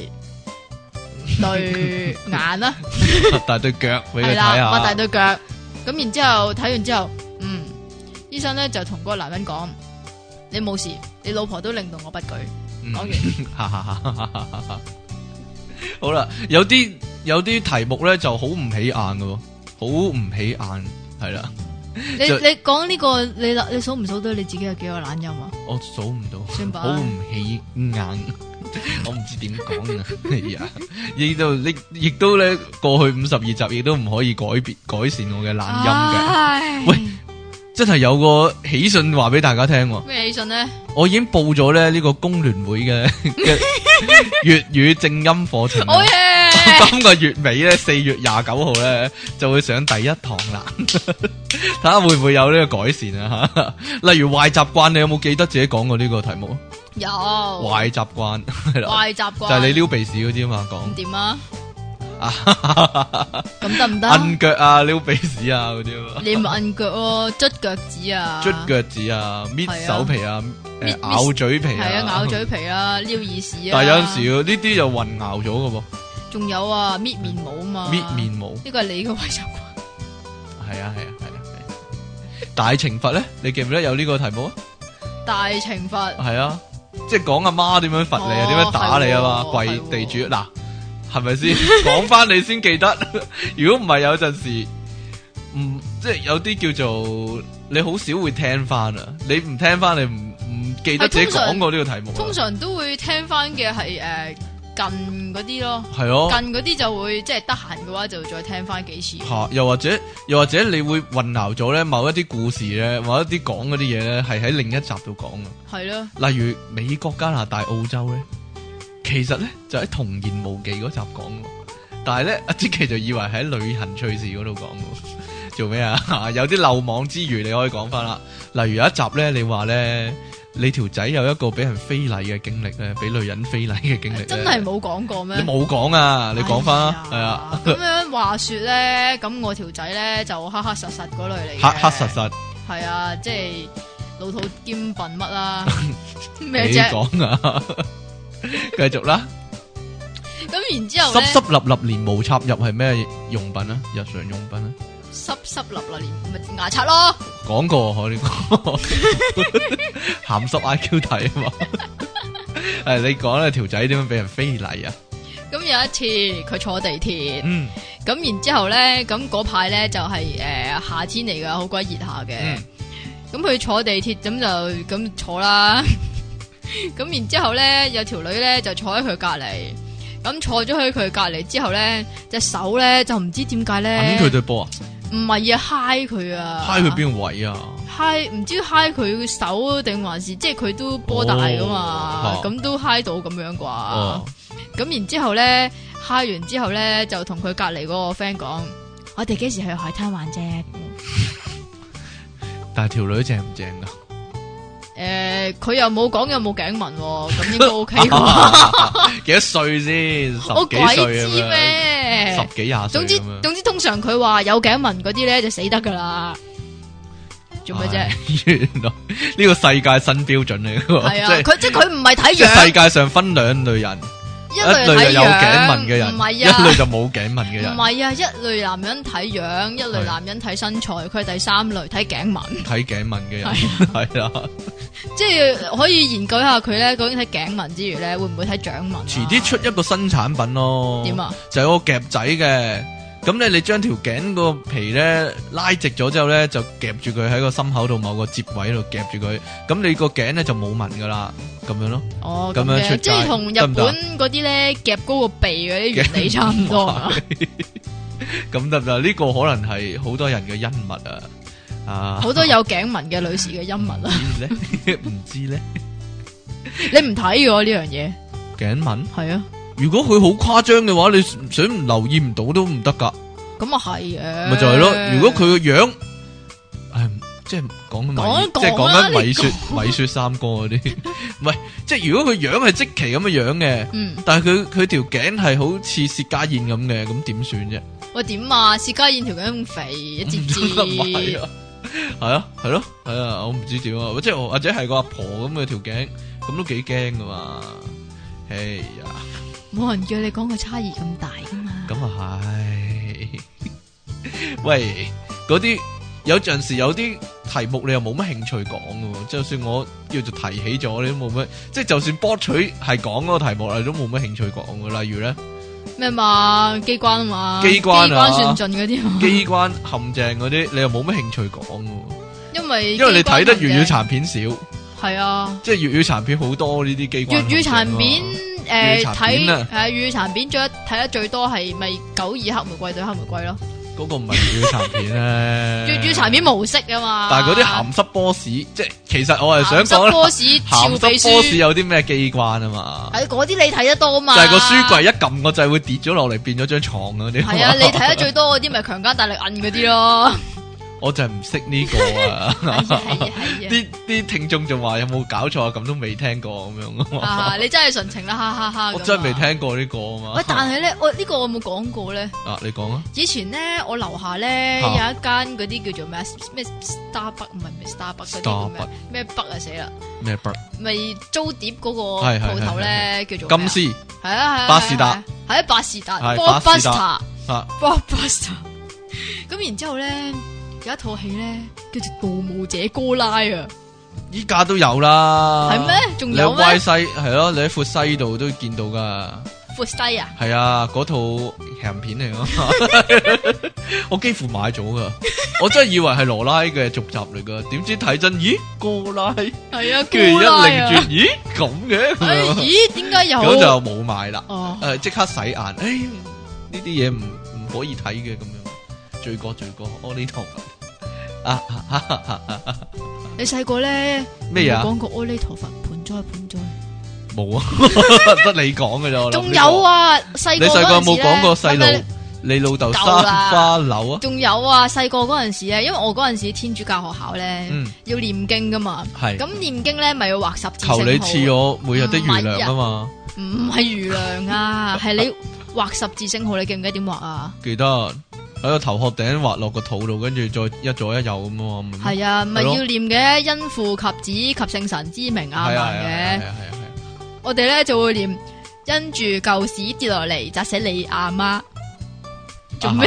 對眼啦，大對腳俾佢睇下。擘大對腳。咁然之後睇完之後，醫生咧就同嗰個男人講：你冇事，你老婆都令到我不舉。講完。好啦，有啲題目咧就好唔起眼嘅，好唔起眼，係啦。你講呢個你數唔數到你自己有幾個懶音啊？我數唔到，算吧，好唔起眼，我唔知點講啊！係啊，亦都咧過去52集亦都唔可以改善我嘅懶音嘅。喂， 真係有個喜訊話俾大家聽。 咩喜訊咧？ 我已經報咗咧呢個工聯會嘅粵語正音課程。 好嘢！ 今個月尾咧，4月29號咧就會上第一堂啦。睇下會唔會有呢個改善啊？吓，例如壞習慣，你有冇記得自己講過呢個題目？ 有壞習慣係啦， 壞習慣就係你撩鼻屎嗰啲嘛，講唔掂啊？咁得唔得？ 摁腳啊，撩鼻屎啊嗰啲啊， 你唔摁腳喎，捽腳趾啊， 捽腳趾啊，搣手皮啊，咬嘴皮啊， 係啊，咬嘴皮啊，撩耳屎啊。 但係有陣時呢啲就混淆咗噶噃。 仲有啊，搣面毛啊嘛， 搣面毛呢個係你嘅壞習慣。 係啊係啊係啊係啊！大懲罰咧，你記唔記得有呢個題目啊？ 大懲罰係啊，即係講阿媽點樣罰你啊，點樣打你啊嘛，跪地主嗱。係咪先講翻你先記得？如果唔係有陣時，即係有啲叫做你好少會聽翻啊！你唔聽翻，你唔記得自己講過呢個題目。通常都會聽翻嘅係近嗰啲咯，係咯，近嗰啲就會即係得閒嘅話就再聽翻幾次。吓，又或者你會混淆咗咧某一啲故事咧，某一啲講嗰啲嘢咧係喺另一集度講啊。係咯，例如美國、加拿大、澳洲咧。其實咧就喺童言無忌嗰集講，但係咧阿積淇就以為喺旅行趣事嗰度講，做咩啊？有啲漏網之魚你可以講翻啦。例如有一集咧，你話咧你條仔有一個俾人非禮嘅經歷咧，俾女人非禮嘅經歷，真係冇講過咩？你冇講啊？你講翻啊？係啊。咁樣話說咧，咁我條仔咧就黑黑實實嗰類嚟嘅，黑黑實實係啊，即係老土兼笨乜啦？咩啫？你講啊！繼續啦，咁然之後咧，濕濕立立連毛插入係咩用品啊？日常用品啊？濕濕立立連咪牙刷咯。講過我呢個鹹濕 IQ 題啊嘛。係你講啦，條仔點樣俾人非禮啊？咁有一次佢坐地鐵，咁然之後咧，咁嗰排咧就係夏天嚟噶，好鬼熱下嘅。咁佢坐地鐵咁就咁坐啦。咁然之後咧，有條女咧就坐喺佢隔籬，咁坐咗喺佢隔籬之後咧，隻手咧就唔知點解咧，揞佢對波啊？唔係啊，嗨佢啊，嗨佢邊個位啊？嗨唔知嗨佢手定還是即係佢都波大噶嘛？咁都嗨到咁樣啩？咁然之後咧，嗨完之後咧就同佢隔籬嗰個 friend 講：我哋幾時去海灘玩啫？但係條女正唔正噶？佢又冇講有冇頸紋，咁應該 OK 啩？幾多歲先？我鬼知咩？十幾廿歲。總之，通常佢話有頸紋嗰啲咧就死得噶啦。做咩啫？原來呢個世界新標準嚟嘅。係啊，佢唔係睇樣。世界上分兩類人。一類有頸紋嘅人，唔係啊，一類就冇頸紋嘅人。唔係啊，一類男人睇樣，一類男人睇身材，佢係第三類睇頸紋。睇頸紋嘅人係啦，即係可以研究一下佢咧，究竟睇頸紋之餘咧，會唔會睇掌紋？遲啲出一個新產品咯。點啊？就有個夾仔嘅。咁咧，你將條頸個皮咧拉直咗之後咧，就夾住佢喺個心口度某個接位度夾住佢，咁你個頸咧就冇紋噶啦，咁樣咯。哦，咁樣出街，即係同日本嗰啲咧夾高個鼻嗰啲原理差唔多啊。咁得唔得？呢個可能係好多人嘅恩物啊！啊，好多有頸紋嘅女士嘅恩物啊。唔知咧，你唔睇嘅呢樣嘢？頸紋係啊。如果佢好誇張嘅話，你想唔留意唔到都唔得噶。咁啊係嘅，咪就係咯。如果佢個樣，即係講緊米雪三哥嗰啲，唔係，即係如果佢樣係積淇咁嘅樣嘅，但係佢條頸係好似薛家燕咁嘅，咁點算啫？喂，點啊？薛家燕條頸咁肥，一節節。係啊，係咯，係啊，我唔知點啊，即係或者係個阿婆咁嘅條頸，咁都幾驚噶嘛。哎呀！冇人叫你講個差異咁大噶嘛？咁啊係，喂，嗰啲有陣時有啲題目你又冇乜興趣講噶，就算我叫做提起咗，你都冇乜，即係就算博取係講嗰個題目，你都冇乜興趣講噶。例如咧咩嘛，機關啊嘛，機關算盡嗰啲，機關陷阱嗰啲，你又冇乜興趣講噶。因為你睇得粵語殘片少，係啊，即係粵語殘片好多呢啲機關。粵語殘片。睇粵語殘片睇得最多係咪92黑玫瑰對黑玫瑰咯？ 嗰個唔係粵語殘片咧， 粵語殘片模式啊嘛。 但係嗰啲鹹濕 boss，即係其實我係想講鹹濕 boss 有啲咩機關啊嘛。 係嗰啲你睇得多嘛？ 就係個書櫃一撳個掣會跌咗落嚟，變咗張床嗰啲。 係啊，你睇得最多嗰啲咪強姦大力摁嗰啲咯。 我就係唔識呢個啊！啲聽眾仲話有冇搞錯啊？咁都未聽過咁樣啊！你真係純情啦，哈哈哈！ 我真係未聽過呢個啊嘛。 喂，但係咧，我呢個我冇講過咧。 啊，你講啊！ 以前咧，我樓下咧有一間嗰啲叫做咩 Starbucks， 唔係 Starbucks 嗰啲咩北啊，死啦！咩北？咪租碟嗰個鋪頭咧，叫做金絲。 係啊， 巴士達。 係啊，巴士達。 Blockbuster。 Blockbuster。咁然之後咧。有一套戲咧，叫做《盜墓者哥拉》啊！ 依家都有啦， 係咩？仲有咩？ 你喺西係咯，你喺闊西度都見到噶。 闊西啊？係啊，嗰套鹹片嚟咯，我幾乎買咗噶，我真係以為係羅拉嘅續集嚟噶，點知睇真，咦，哥拉係啊， 跟住一擰轉，咦，咁嘅， 咦，點解有？ 咁就冇買啦。 哦， 即刻洗眼，呢啲嘢唔可以睇嘅咁樣，罪過，我呢套。 你細個咧咩啊？ 講過阿彌陀佛盆栽， 冇啊，得你講嘅咋？ 仲有啊，細個你細個有冇講過細路你老豆生花柳啊？ 仲有啊，細個嗰陣時咧，因為我嗰陣時天主教學校咧，要念經噶嘛，係咁念經咧，咪要畫十字聖號。求你賜我每日的餘糧啊嘛，唔係餘糧啊，係你畫十字聖號，你記唔記得點畫啊？ 記得。喺個頭殼頂滑落個肚度，跟住再一左一右咁啊！ 係啊，唔係要念嘅，因父及子及聖神之名阿們嘅。我哋咧就會念，因住舊屎跌落嚟砸死你阿媽。做咩？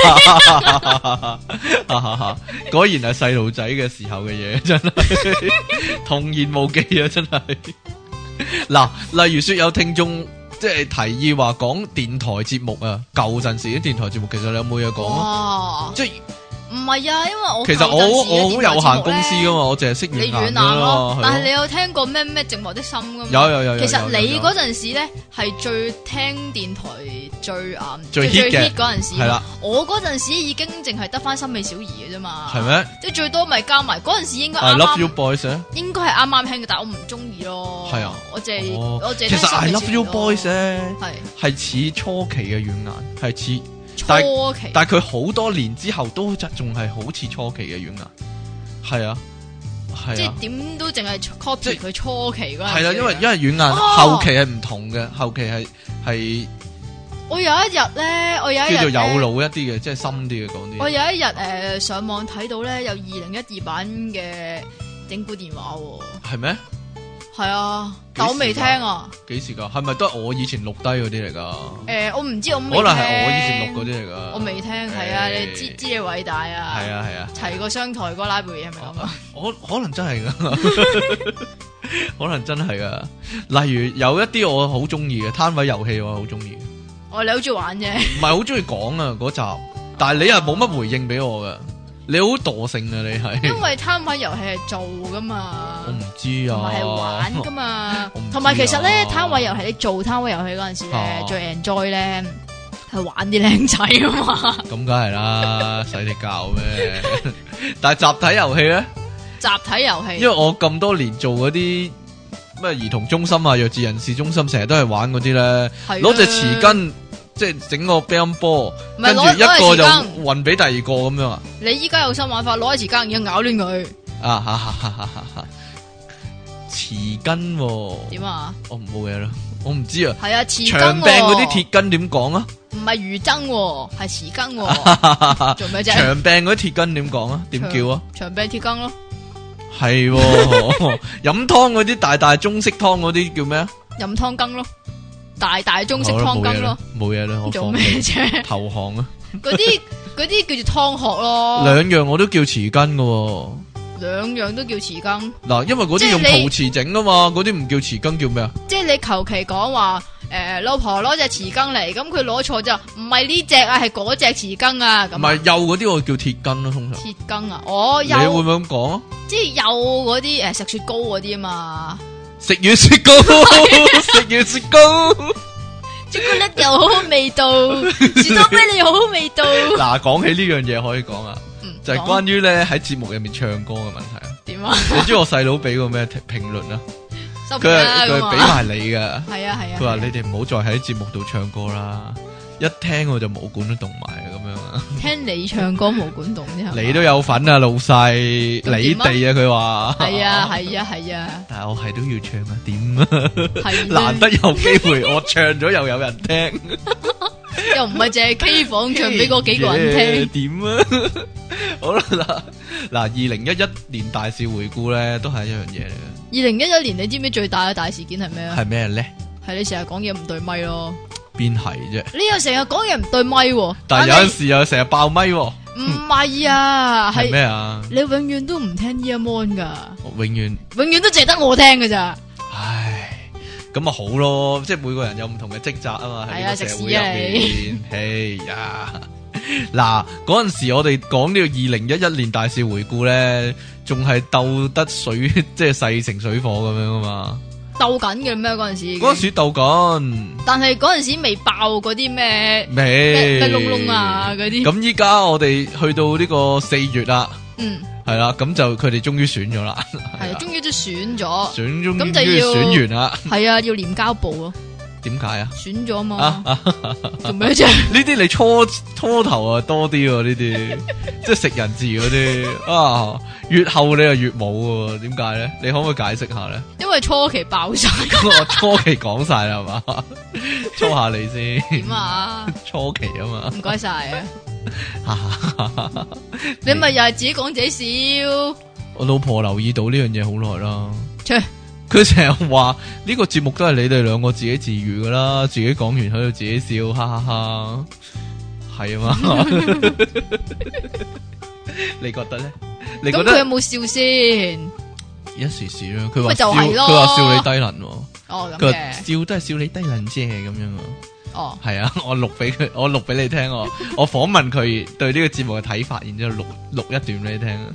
果然係細路仔嘅時候嘅嘢，真係童言無忌啊！真係。嗱，例如說有聽眾。即係提議話講電台節目啊，舊陣時啲電台節目，其實你有冇嘢講啊？即係唔係啊，因為我其實我好有限公司噶嘛，我淨係識軟硬咯。 但係你有聽過咩寂寞的心噶嘛？ 有。 其實你嗰陣時咧係最聽電台最 hit 嗰陣時。 係啦， 我嗰陣時已經淨係得翻森美小儀嘅啫嘛。 係咩？即係最多咪加埋嗰陣時應該。 I Love You Boys 咧， 應該係啱啱聽嘅，但係我唔中意咯。 係啊， 我淨其實 I Love You Boys 咧係似初期嘅軟硬，係似。但係佢好多年之後都仲係好似初期嘅軟硬，係啊， 即係點都淨係 copy 佢初期嗰陣。 係啦，因為軟硬後期係唔同嘅，後期係我有一日咧， 叫做有腦一啲嘅，即係深啲嘅講啲。 我有一日上網睇到咧，有2012版嘅整蠱電話喎。 係咩？ 係啊，但我未聽啊。 幾時噶？係咪都係我以前錄低嗰啲嚟噶？ 我唔知，我未聽。 可能係我以前錄嗰啲嚟噶。 我未聽，係啊，你知你偉大啊。 係啊。 齊個商台嗰個拉貝係咪咁啊？ 可能真係噶，可能真係噶。例如有一啲我好中意嘅攤位遊戲，我好中意。 你好中意玩啫。唔係好中意講啊嗰集，但係你又冇乜回應俾我噶。你好惰性啊！你係因為攤位遊戲係做噶嘛， 我唔知啊， 唔係玩噶嘛。同埋其實咧，攤位遊戲你做攤位遊戲嗰陣時咧，最 enjoy 咧係玩啲靚仔啊嘛。咁梗係啦，使你教咩？但係集體遊戲咧， 集體遊戲， 因為我咁多年做嗰啲咩兒童中心啊、弱智人士中心，成日都係玩嗰啲咧，攞隻匙羹。即係整個乒乓波，跟住一個就運俾第二個咁樣啊！ 你依家有新玩法，攞起匙羹然後咬亂佢。 匙羹點啊？ 我冇嘢啦，我唔知啊。 係啊，匙羹。 長柄嗰啲鐵羹點講啊？ 唔係魚羹，係匙羹。做咩啫？ 長柄嗰啲鐵羹點講啊？點叫啊？ 長柄鐵羹咯。 係飲湯嗰啲大大中式湯嗰啲叫咩啊？ 飲湯羹咯。大中式湯羹咯， 冇嘢啦， 做咩啫？ 投降啊！ 嗰啲叫做湯殼咯， 兩樣我都叫匙羹噶， 兩樣都叫匙羹。 嗱，因為嗰啲用陶瓷整啊嘛，嗰啲唔叫匙羹，叫咩啊？ 即係你求其講話，老婆攞隻匙羹嚟，咁佢攞錯就唔係呢隻啊，係嗰隻匙羹啊。咁唔係幼嗰啲我叫鐵羹咯，通常。 鐵羹啊，幼。 你會唔會咁講啊？ 即係幼嗰啲食雪糕嗰啲啊嘛。 食完雪糕，食完雪糕， 朱古力又好好味道，士多啤梨又好好味道。 嗱，講起呢樣嘢可以講啊，就係關於咧喺節目入面唱歌嘅問題啊。 點啊？ 你知我細佬俾個咩評論啊？佢俾埋你噶。係啊。佢話你哋唔好再喺節目度唱歌啦，一聽我就毛管都動埋咁樣啊。 聽你唱歌毛管動啫， 你都有份啊，老細，你哋啊，佢話係啊， 但係我係都要唱啊，點啊？難得有機會，我唱咗又有人聽， 又唔係淨係 K 房唱俾嗰幾個人聽， 點啊？好啦，嗱，2011年大事回顧咧，都係一樣嘢嚟嘅。 2011年你知唔知最大嘅大事件係咩啊？ 係咩咧？ 係你成日講嘢唔對咪咯。 邊係啫？你又成日講嘢唔對咪， 但係有陣時又成日爆咪。唔係啊，係咩啊？ 你永遠都唔聽 earphone 噶， 永遠都淨係得我聽噶咋？ 唉，咁咪好咯，即係每個人有唔同嘅職責啊嘛。喺呢個社會入面，哎呀，嗱，嗰陣時我哋講呢個2011年大事回顧咧，仲係鬥得水，即係勢成水火咁樣啊嘛。 鬥緊嘅咩嗰陣時？ 嗰陣時鬥緊， 但係嗰陣時未爆嗰啲咩窿窿啊嗰啲。咁依家我哋去到呢個4月啦，係啦，咁就佢哋終於選咗啦， 係終於都選咗， 咁就要選完啦， 係啊，要廉交部咯。 點解啊？ 選咗嘛？做咩啫？ 呢啲你初頭啊多啲喎，呢啲即係食人字嗰啲啊，越後你又越冇喎，點解咧？你可唔可以解釋下咧？ 因為初期爆晒， 我初期講晒啦，係嘛？初下你先點啊？ 初期啊嘛， 唔該晒啊！你咪又係自己講自己笑。 我老婆留意到呢樣嘢好耐啦。佢成日話呢個節目都係你哋兩個自己自娛噶啦，自己講完喺度自己笑，哈哈哈，係啊嘛？你覺得咧？你覺得佢有冇笑先？ 一時時啦，佢話就係咯， 佢話笑你低能。 哦，咁嘅笑都係笑你低能啫，咁樣啊。 哦， 係啊，我錄俾你聽，我訪問佢對呢個節目嘅睇法，然之後錄一段俾你聽。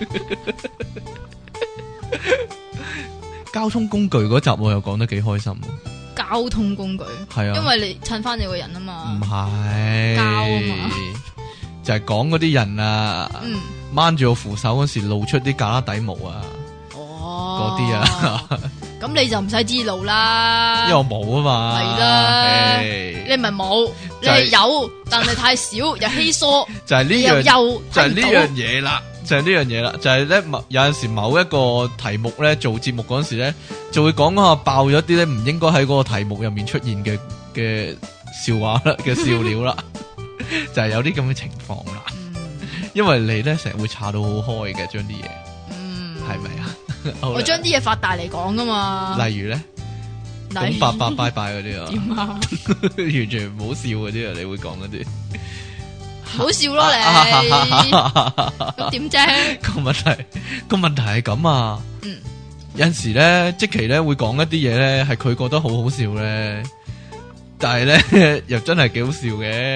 交通工具嗰集我又講得幾開心。 交通工具係啊，因為你襯翻你個人啊嘛。唔係交啊嘛， 就係講嗰啲人啊，掹住個扶手嗰時露出啲架底毛啊，嗰啲啊。 咁你就唔使知路啦， 因為我冇啊嘛。 係啦，你唔係冇，你係有，但係太少又稀疏， 就係呢樣，就係呢樣嘢啦。就係呢樣嘢啦，就係咧有陣時某一個題目咧做節目嗰陣時咧，就會講下爆咗啲咧唔應該喺嗰個題目入面出現嘅笑話啦，嘅笑料啦，就係有啲咁嘅情況啦。因為你咧成日會查到好開嘅，將啲嘢，係咪啊？ 我將啲嘢發大嚟講噶嘛。 例如咧，講拜拜拜拜嗰啲啊， 點啊？ 完全唔好笑嗰啲啊，你會講嗰啲。 好笑咯你，咁點啫？ 個問題係咁啊，有陣時咧，積淇咧會講一啲嘢咧，係佢覺得好好笑咧，但係咧又真係幾好笑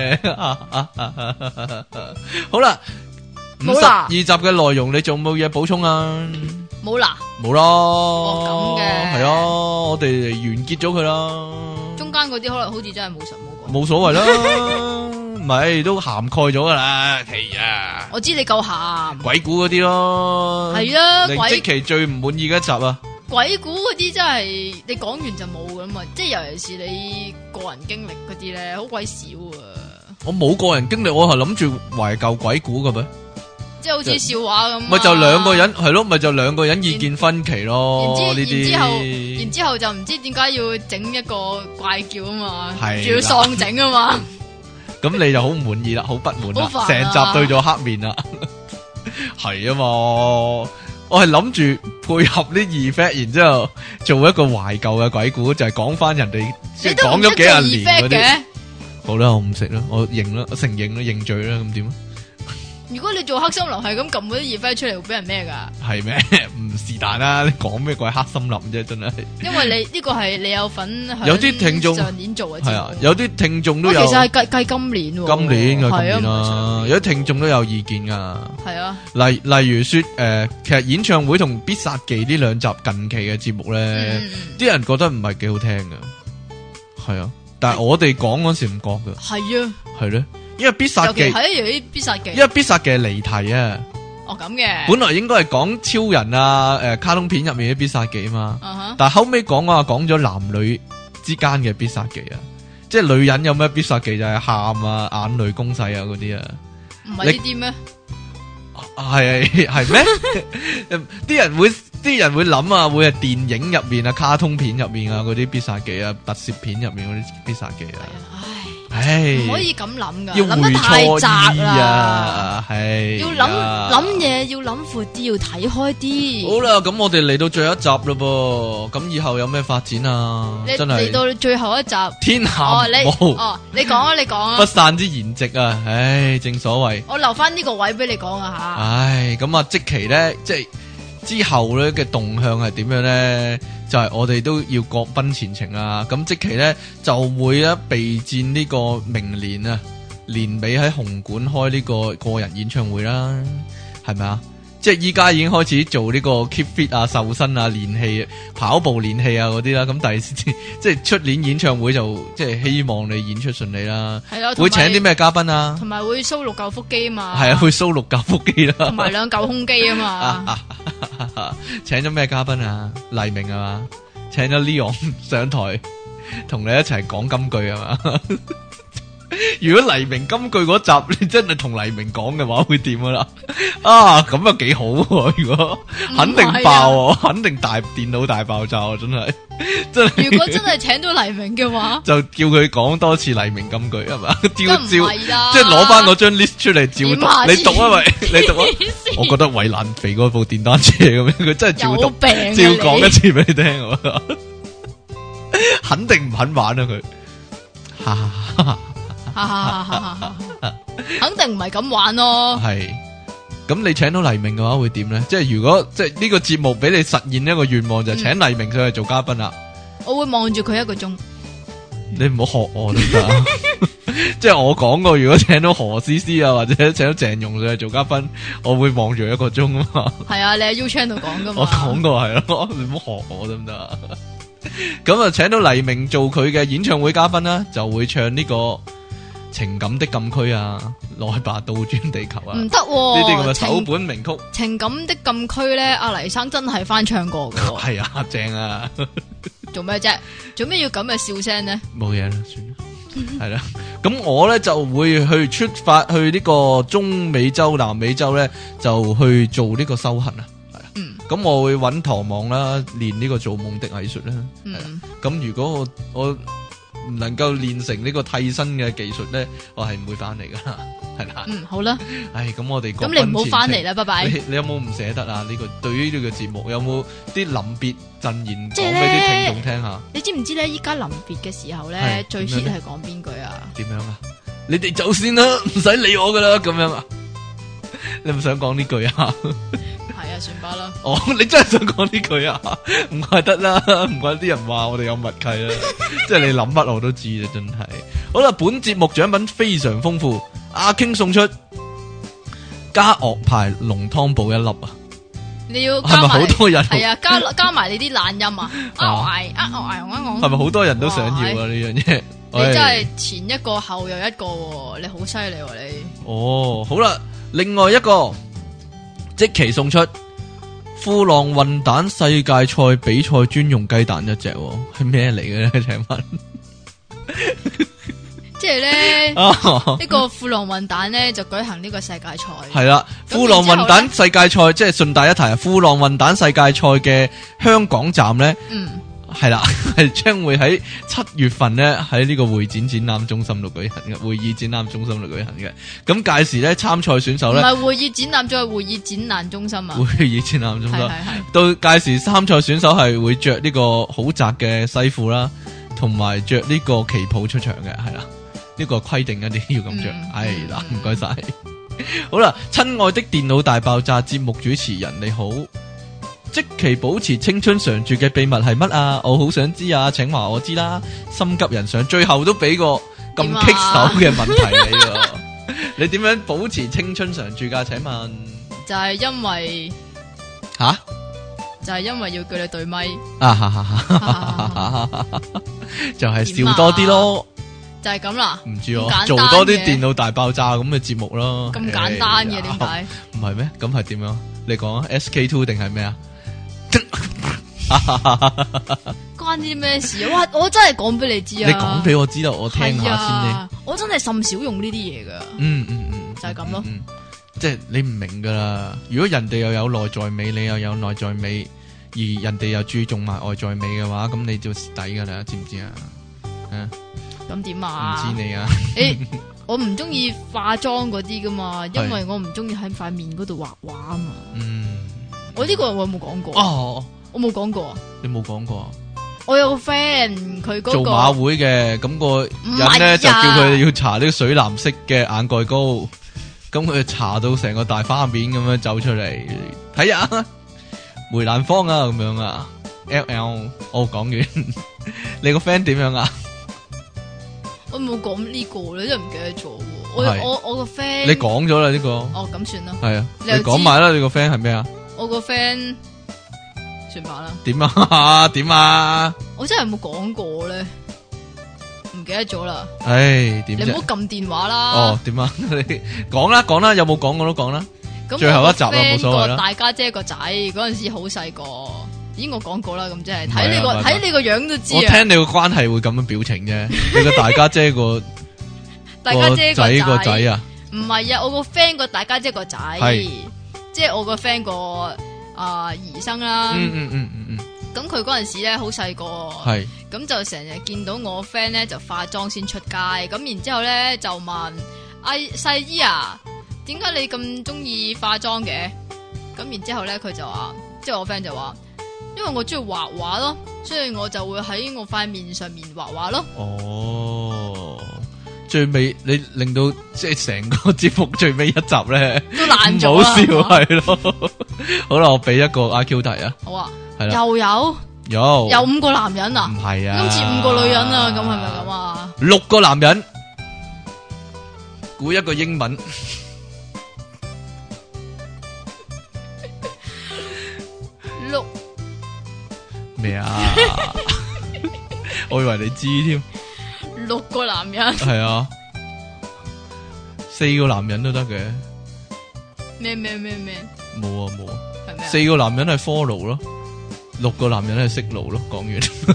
嘅。好啦，52集嘅內容你仲冇嘢補充啊？ 冇啦， 冇咯。 咁嘅係啊，我哋完結咗佢啦。 中間嗰啲可能好似真係冇實冇講， 冇所謂啦。唔係都涵蓋咗噶啦，係啊！ 我知你夠鹹， 鬼故嗰啲咯， 係啊！ 你積淇最唔滿意嘅一集啊！ 鬼故嗰啲真係你講完就冇噶嘛，即係尤其是你個人經歷嗰啲咧，好鬼少啊！ 我冇個人經歷，我係諗住懷舊鬼故嘅咩？ 即係好似笑話咁， 咪就兩個人係咯，咪就兩個人意見分歧咯。呢啲然之後就唔知點解要整一個怪叫啊嘛，仲要喪整啊嘛。 咁你就好唔滿意啦，好不滿啦，成集對咗黑面啦，係啊嘛，我係諗住配合啲 effect，然之後做一個懷舊嘅鬼故，就係講翻人哋即係講咗幾廿年嗰啲。好啦，我唔食啦，我認啦，我承認啦，認罪啦，咁點啊？ 如果你做黑森林係咁撳嗰啲 effect 出嚟，會俾人咩噶？ 係咩？唔是但啦，你講咩鬼黑森林啫？真係。因為你呢個係你有份， 有啲聽眾上年做嘅係啊，有啲聽眾都有。 其實係計今年喎。今年啦，有啲聽眾都有意見噶。 係啊。 例如說其實演唱會同必殺技呢兩集近期嘅節目咧，啲人覺得唔係幾好聽噶。係啊。 但係我哋講嗰時唔覺噶。 係啊， 係咧，因為必殺技係有啲必殺技， 因為必殺技係離題啊。 哦咁嘅， 本來應該係講超人啊，卡通片入面啲必殺技啊嘛。但係後尾講咗男女之間嘅必殺技啊，即係女人有咩必殺技就係喊啊、眼淚攻勢啊嗰啲啊。 唔係呢啲咩？ 係咩？啲人會諗啊，會係電影入面啊、卡通片入面啊嗰啲必殺技啊、特攝片入面嗰啲必殺技啊。唉， 唔可以咁諗噶， 要諗得太窄啦。係要諗嘢，要諗闊啲，要睇開啲。 好啦，咁我哋嚟到最後一集咯噃，咁以後有咩發展啊？真係嚟到最後一集， 天下無你講啊， 不散之筵席啊！唉，正所謂， 我留翻呢個位俾你講啊吓。 唉，咁啊，即期咧，即係之後咧嘅動向係點樣咧？就係我哋都要各奔前程啊！咁即期咧就會備戰呢個明年啊年尾喺紅館開呢個人演唱會啦，係咪啊？即係依家已經開始做呢個 keep fit 啊、瘦身啊、練氣、跑步練氣啊嗰啲啦。咁即係出年演唱會就即係希望你演出順利啦。係咯，會請啲咩嘉賓啊？同埋會 show 6嚿腹肌啊嘛。係啊，會 show 6嚿腹肌啦。同埋2嚿胸肌啊嘛。請咗咩嘉賓啊？黎明啊嘛，請咗 Leon 上台同你一齊講金句啊嘛。如果黎明金句嗰集你真係同黎明講嘅話，會點啊啦？啊，咁啊幾好喎！如果肯定爆，肯定電腦大爆炸，真係真係。如果真係請到黎明嘅話，就叫佢講多次黎明金句係嘛？照，即係攞翻嗰張 list 出嚟照讀。你讀啊喂，你讀啊！我覺得衛蘭肥嗰部電單車咁樣，佢真係照讀，照講一次俾你聽。肯定唔肯玩啊佢。肯定唔係咁玩咯。係，咁你請到黎明嘅話會點咧？即係如果即係呢個節目俾你實現一個願望，就係請黎明上去做嘉賓啦。我會望住佢1個鐘。你唔好學我得唔得？即係我講過，如果請到何詩詩啊，或者請到鄭融上去做嘉賓，我會望住1個鐘啊嘛。係啊，你喺 U Channel 講噶嘛？我講過係咯，你唔好學我得唔得？咁啊，請到黎明做佢嘅演唱會嘉賓啦，就會唱呢個情感的禁區啊，來吧倒轉地球啊，唔得呢啲咁嘅首本名曲。情感的禁區咧，阿黎生真係翻唱過嘅。係啊，正啊。做咩啫？做咩要咁嘅笑聲呢？冇嘢啦，算啦。係啦，咁我咧就會去出發去呢個中美洲、南美洲咧，就去做呢個修行啊。係啊，咁我會揾唐望啦，練呢個做夢的藝術啦。係啦，咁如果我唔能夠練成呢個替身嘅技術咧，我係唔會翻嚟噶，係啦。好啦。唉，咁我哋咁你唔好翻嚟啦，拜拜。你有冇唔捨得啊？呢個對於呢個節目有冇啲臨別贈言講俾啲聽眾聽下？你知唔知咧？依家臨別嘅時候咧，最 hit 係講邊句啊？點樣啊？你哋走先啦，唔使理我噶啦，咁樣啊？你唔想講呢句啊？係啊，算吧啦。哦，你真係想講呢句啊？唔怪得啦，唔怪啲人話我哋有默契啦。即係你諗乜我都知啦，真係。好啦，本節目獎品非常豐富，阿 King 送出加樂牌濃湯寶1粒啊！你要係咪好多人？係啊，加埋你啲懶音啊！係咪好多人都想要啊？呢樣嘢你真係前一個後又一個，你好犀利喎你！哦，好啦，另外一個即期送出富浪混蛋世界賽比賽專用雞蛋1隻，係咩嚟嘅咧？請問，即係咧呢個富浪混蛋咧就舉行呢個世界賽，係啦。富浪混蛋世界賽即係順帶一提啊，富浪混蛋世界賽嘅香港站咧，係啦，係將會喺7月份咧喺呢個會展展覽中心度舉行嘅，會議展覽中心度舉行嘅。咁屆時咧參賽選手咧，唔係會議展覽，再係會議展覽中心啊。會議展覽中心，係到屆時參賽選手係會着呢個好窄嘅西褲啦，同埋着呢個旗袍出場嘅，係啦。呢個規定一定要咁着，係啦，唔該晒。好啦，親愛的電腦大爆炸節目主持人你好，即期保持青春常駐嘅秘密係乜啊？我好想知啊，請話我知啦。心急人上，最後都俾個咁棘手嘅問題你喎。你點樣保持青春常駐噶？請問就係因為就係因為要叫你對咪， 就係笑多啲咯， 就係咁啦。 唔知做多啲電腦大爆炸咁嘅節目咯。 咁簡單嘅點解？ 唔係咩？咁係點樣？你講啊 SK2 定係咩啊？ 關啲咩事啊？哇！我真係講俾你知啊！ 你講俾我知道，我聽下先咧。 我真係甚少用呢啲嘢噶。就係咁咯。 即係你唔明噶啦。如果人哋又有內在美，你又有內在美，而人哋又注重埋外在美嘅話，咁你就蝕底噶啦，知唔知啊？ 咁點啊？ 唔知你啊？ 我唔中意化妝嗰啲噶嘛，因為我唔中意喺塊面嗰度畫畫啊嘛。我呢個我有冇講過？ 哦， 我冇講過。 你冇講過？ 我有個 friend， 佢嗰個做馬會嘅，咁個人咧就叫佢哋要搽呢個水藍色嘅眼蓋膏，咁佢搽到成個大花面咁樣走出嚟，睇下梅蘭芳啊咁樣啊 ，LL， 我講完，你個 friend 點樣啊？ 我冇講呢個咧，真係唔記得咗。我個 friend， 你講咗啦呢個。 哦，咁算啦。 係啊，你講埋啦，你個 friend 係咩啊？ 我個 friend。算吧啦。點啊？點啊？ 我真係冇講過咧，唔記得咗啦。 唉，點？ 你唔好撳電話啦。 哦，點啊？你講啦，有冇講過都講啦。 咁最後一集啦，冇所謂啦。 大家姐個仔嗰陣時好細個，咦？我講過啦，咁即係睇你個樣都知啊。 我聽你個關係會咁樣表情啫。你個大家姐個大家姐個仔啊？ 唔係啊，我個 friend 個大家姐個仔，即係我個 friend 個。兒生啦，咁佢嗰陣時咧好細個，咁就成日見到我 friend 咧就化妝先出街，咁然之後咧就問細姨啊，點解你咁中意化妝嘅？咁然之後咧佢就話，即係我 friend 就話，因為我中意畫畫咯，所以我就會喺我塊面上面畫畫咯。哦。最尾你令到即係成個節目最尾一集咧都爛咗，唔好笑係咯。好啦，我俾一個 IQ 題啊。好啊，係啦，又有5個男人啊？唔係啊，今次5個女人啊，咁係咪咁啊？6個男人，估一個英文。6咩啊？我以為你知添。6個男人係啊，4個男人都得嘅。咩？冇啊，係咩？4個男人係 follow 咯，6個男人係識路咯。講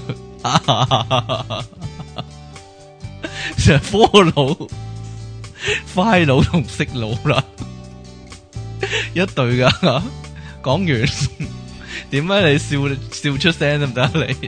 完，成 follow、快路同識路啦，一對噶。講完，點解你笑出聲得唔得你？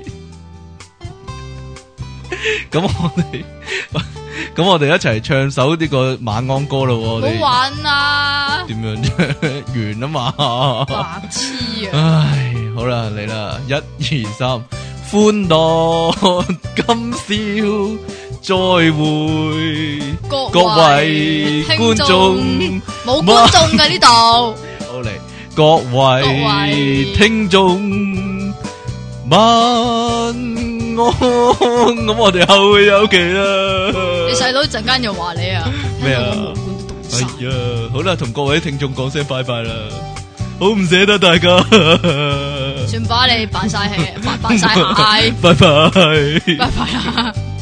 咁我哋一齊唱首呢個晚安歌咯。好玩啊！點樣啫？完啊嘛！白痴啊！唉，好啦，嚟啦，1、2、3，歡樂今宵再會，各位觀眾，冇觀眾嘅呢度。好嚟，各位聽眾，晚安。咁我哋後會有期啦。你細佬陣間又話你啊？咩啊？哎呀，好啦，同各位聽眾講聲拜拜啦，好唔捨得大家。算把你扮晒戲，扮晒蟹。拜拜，拜拜啦。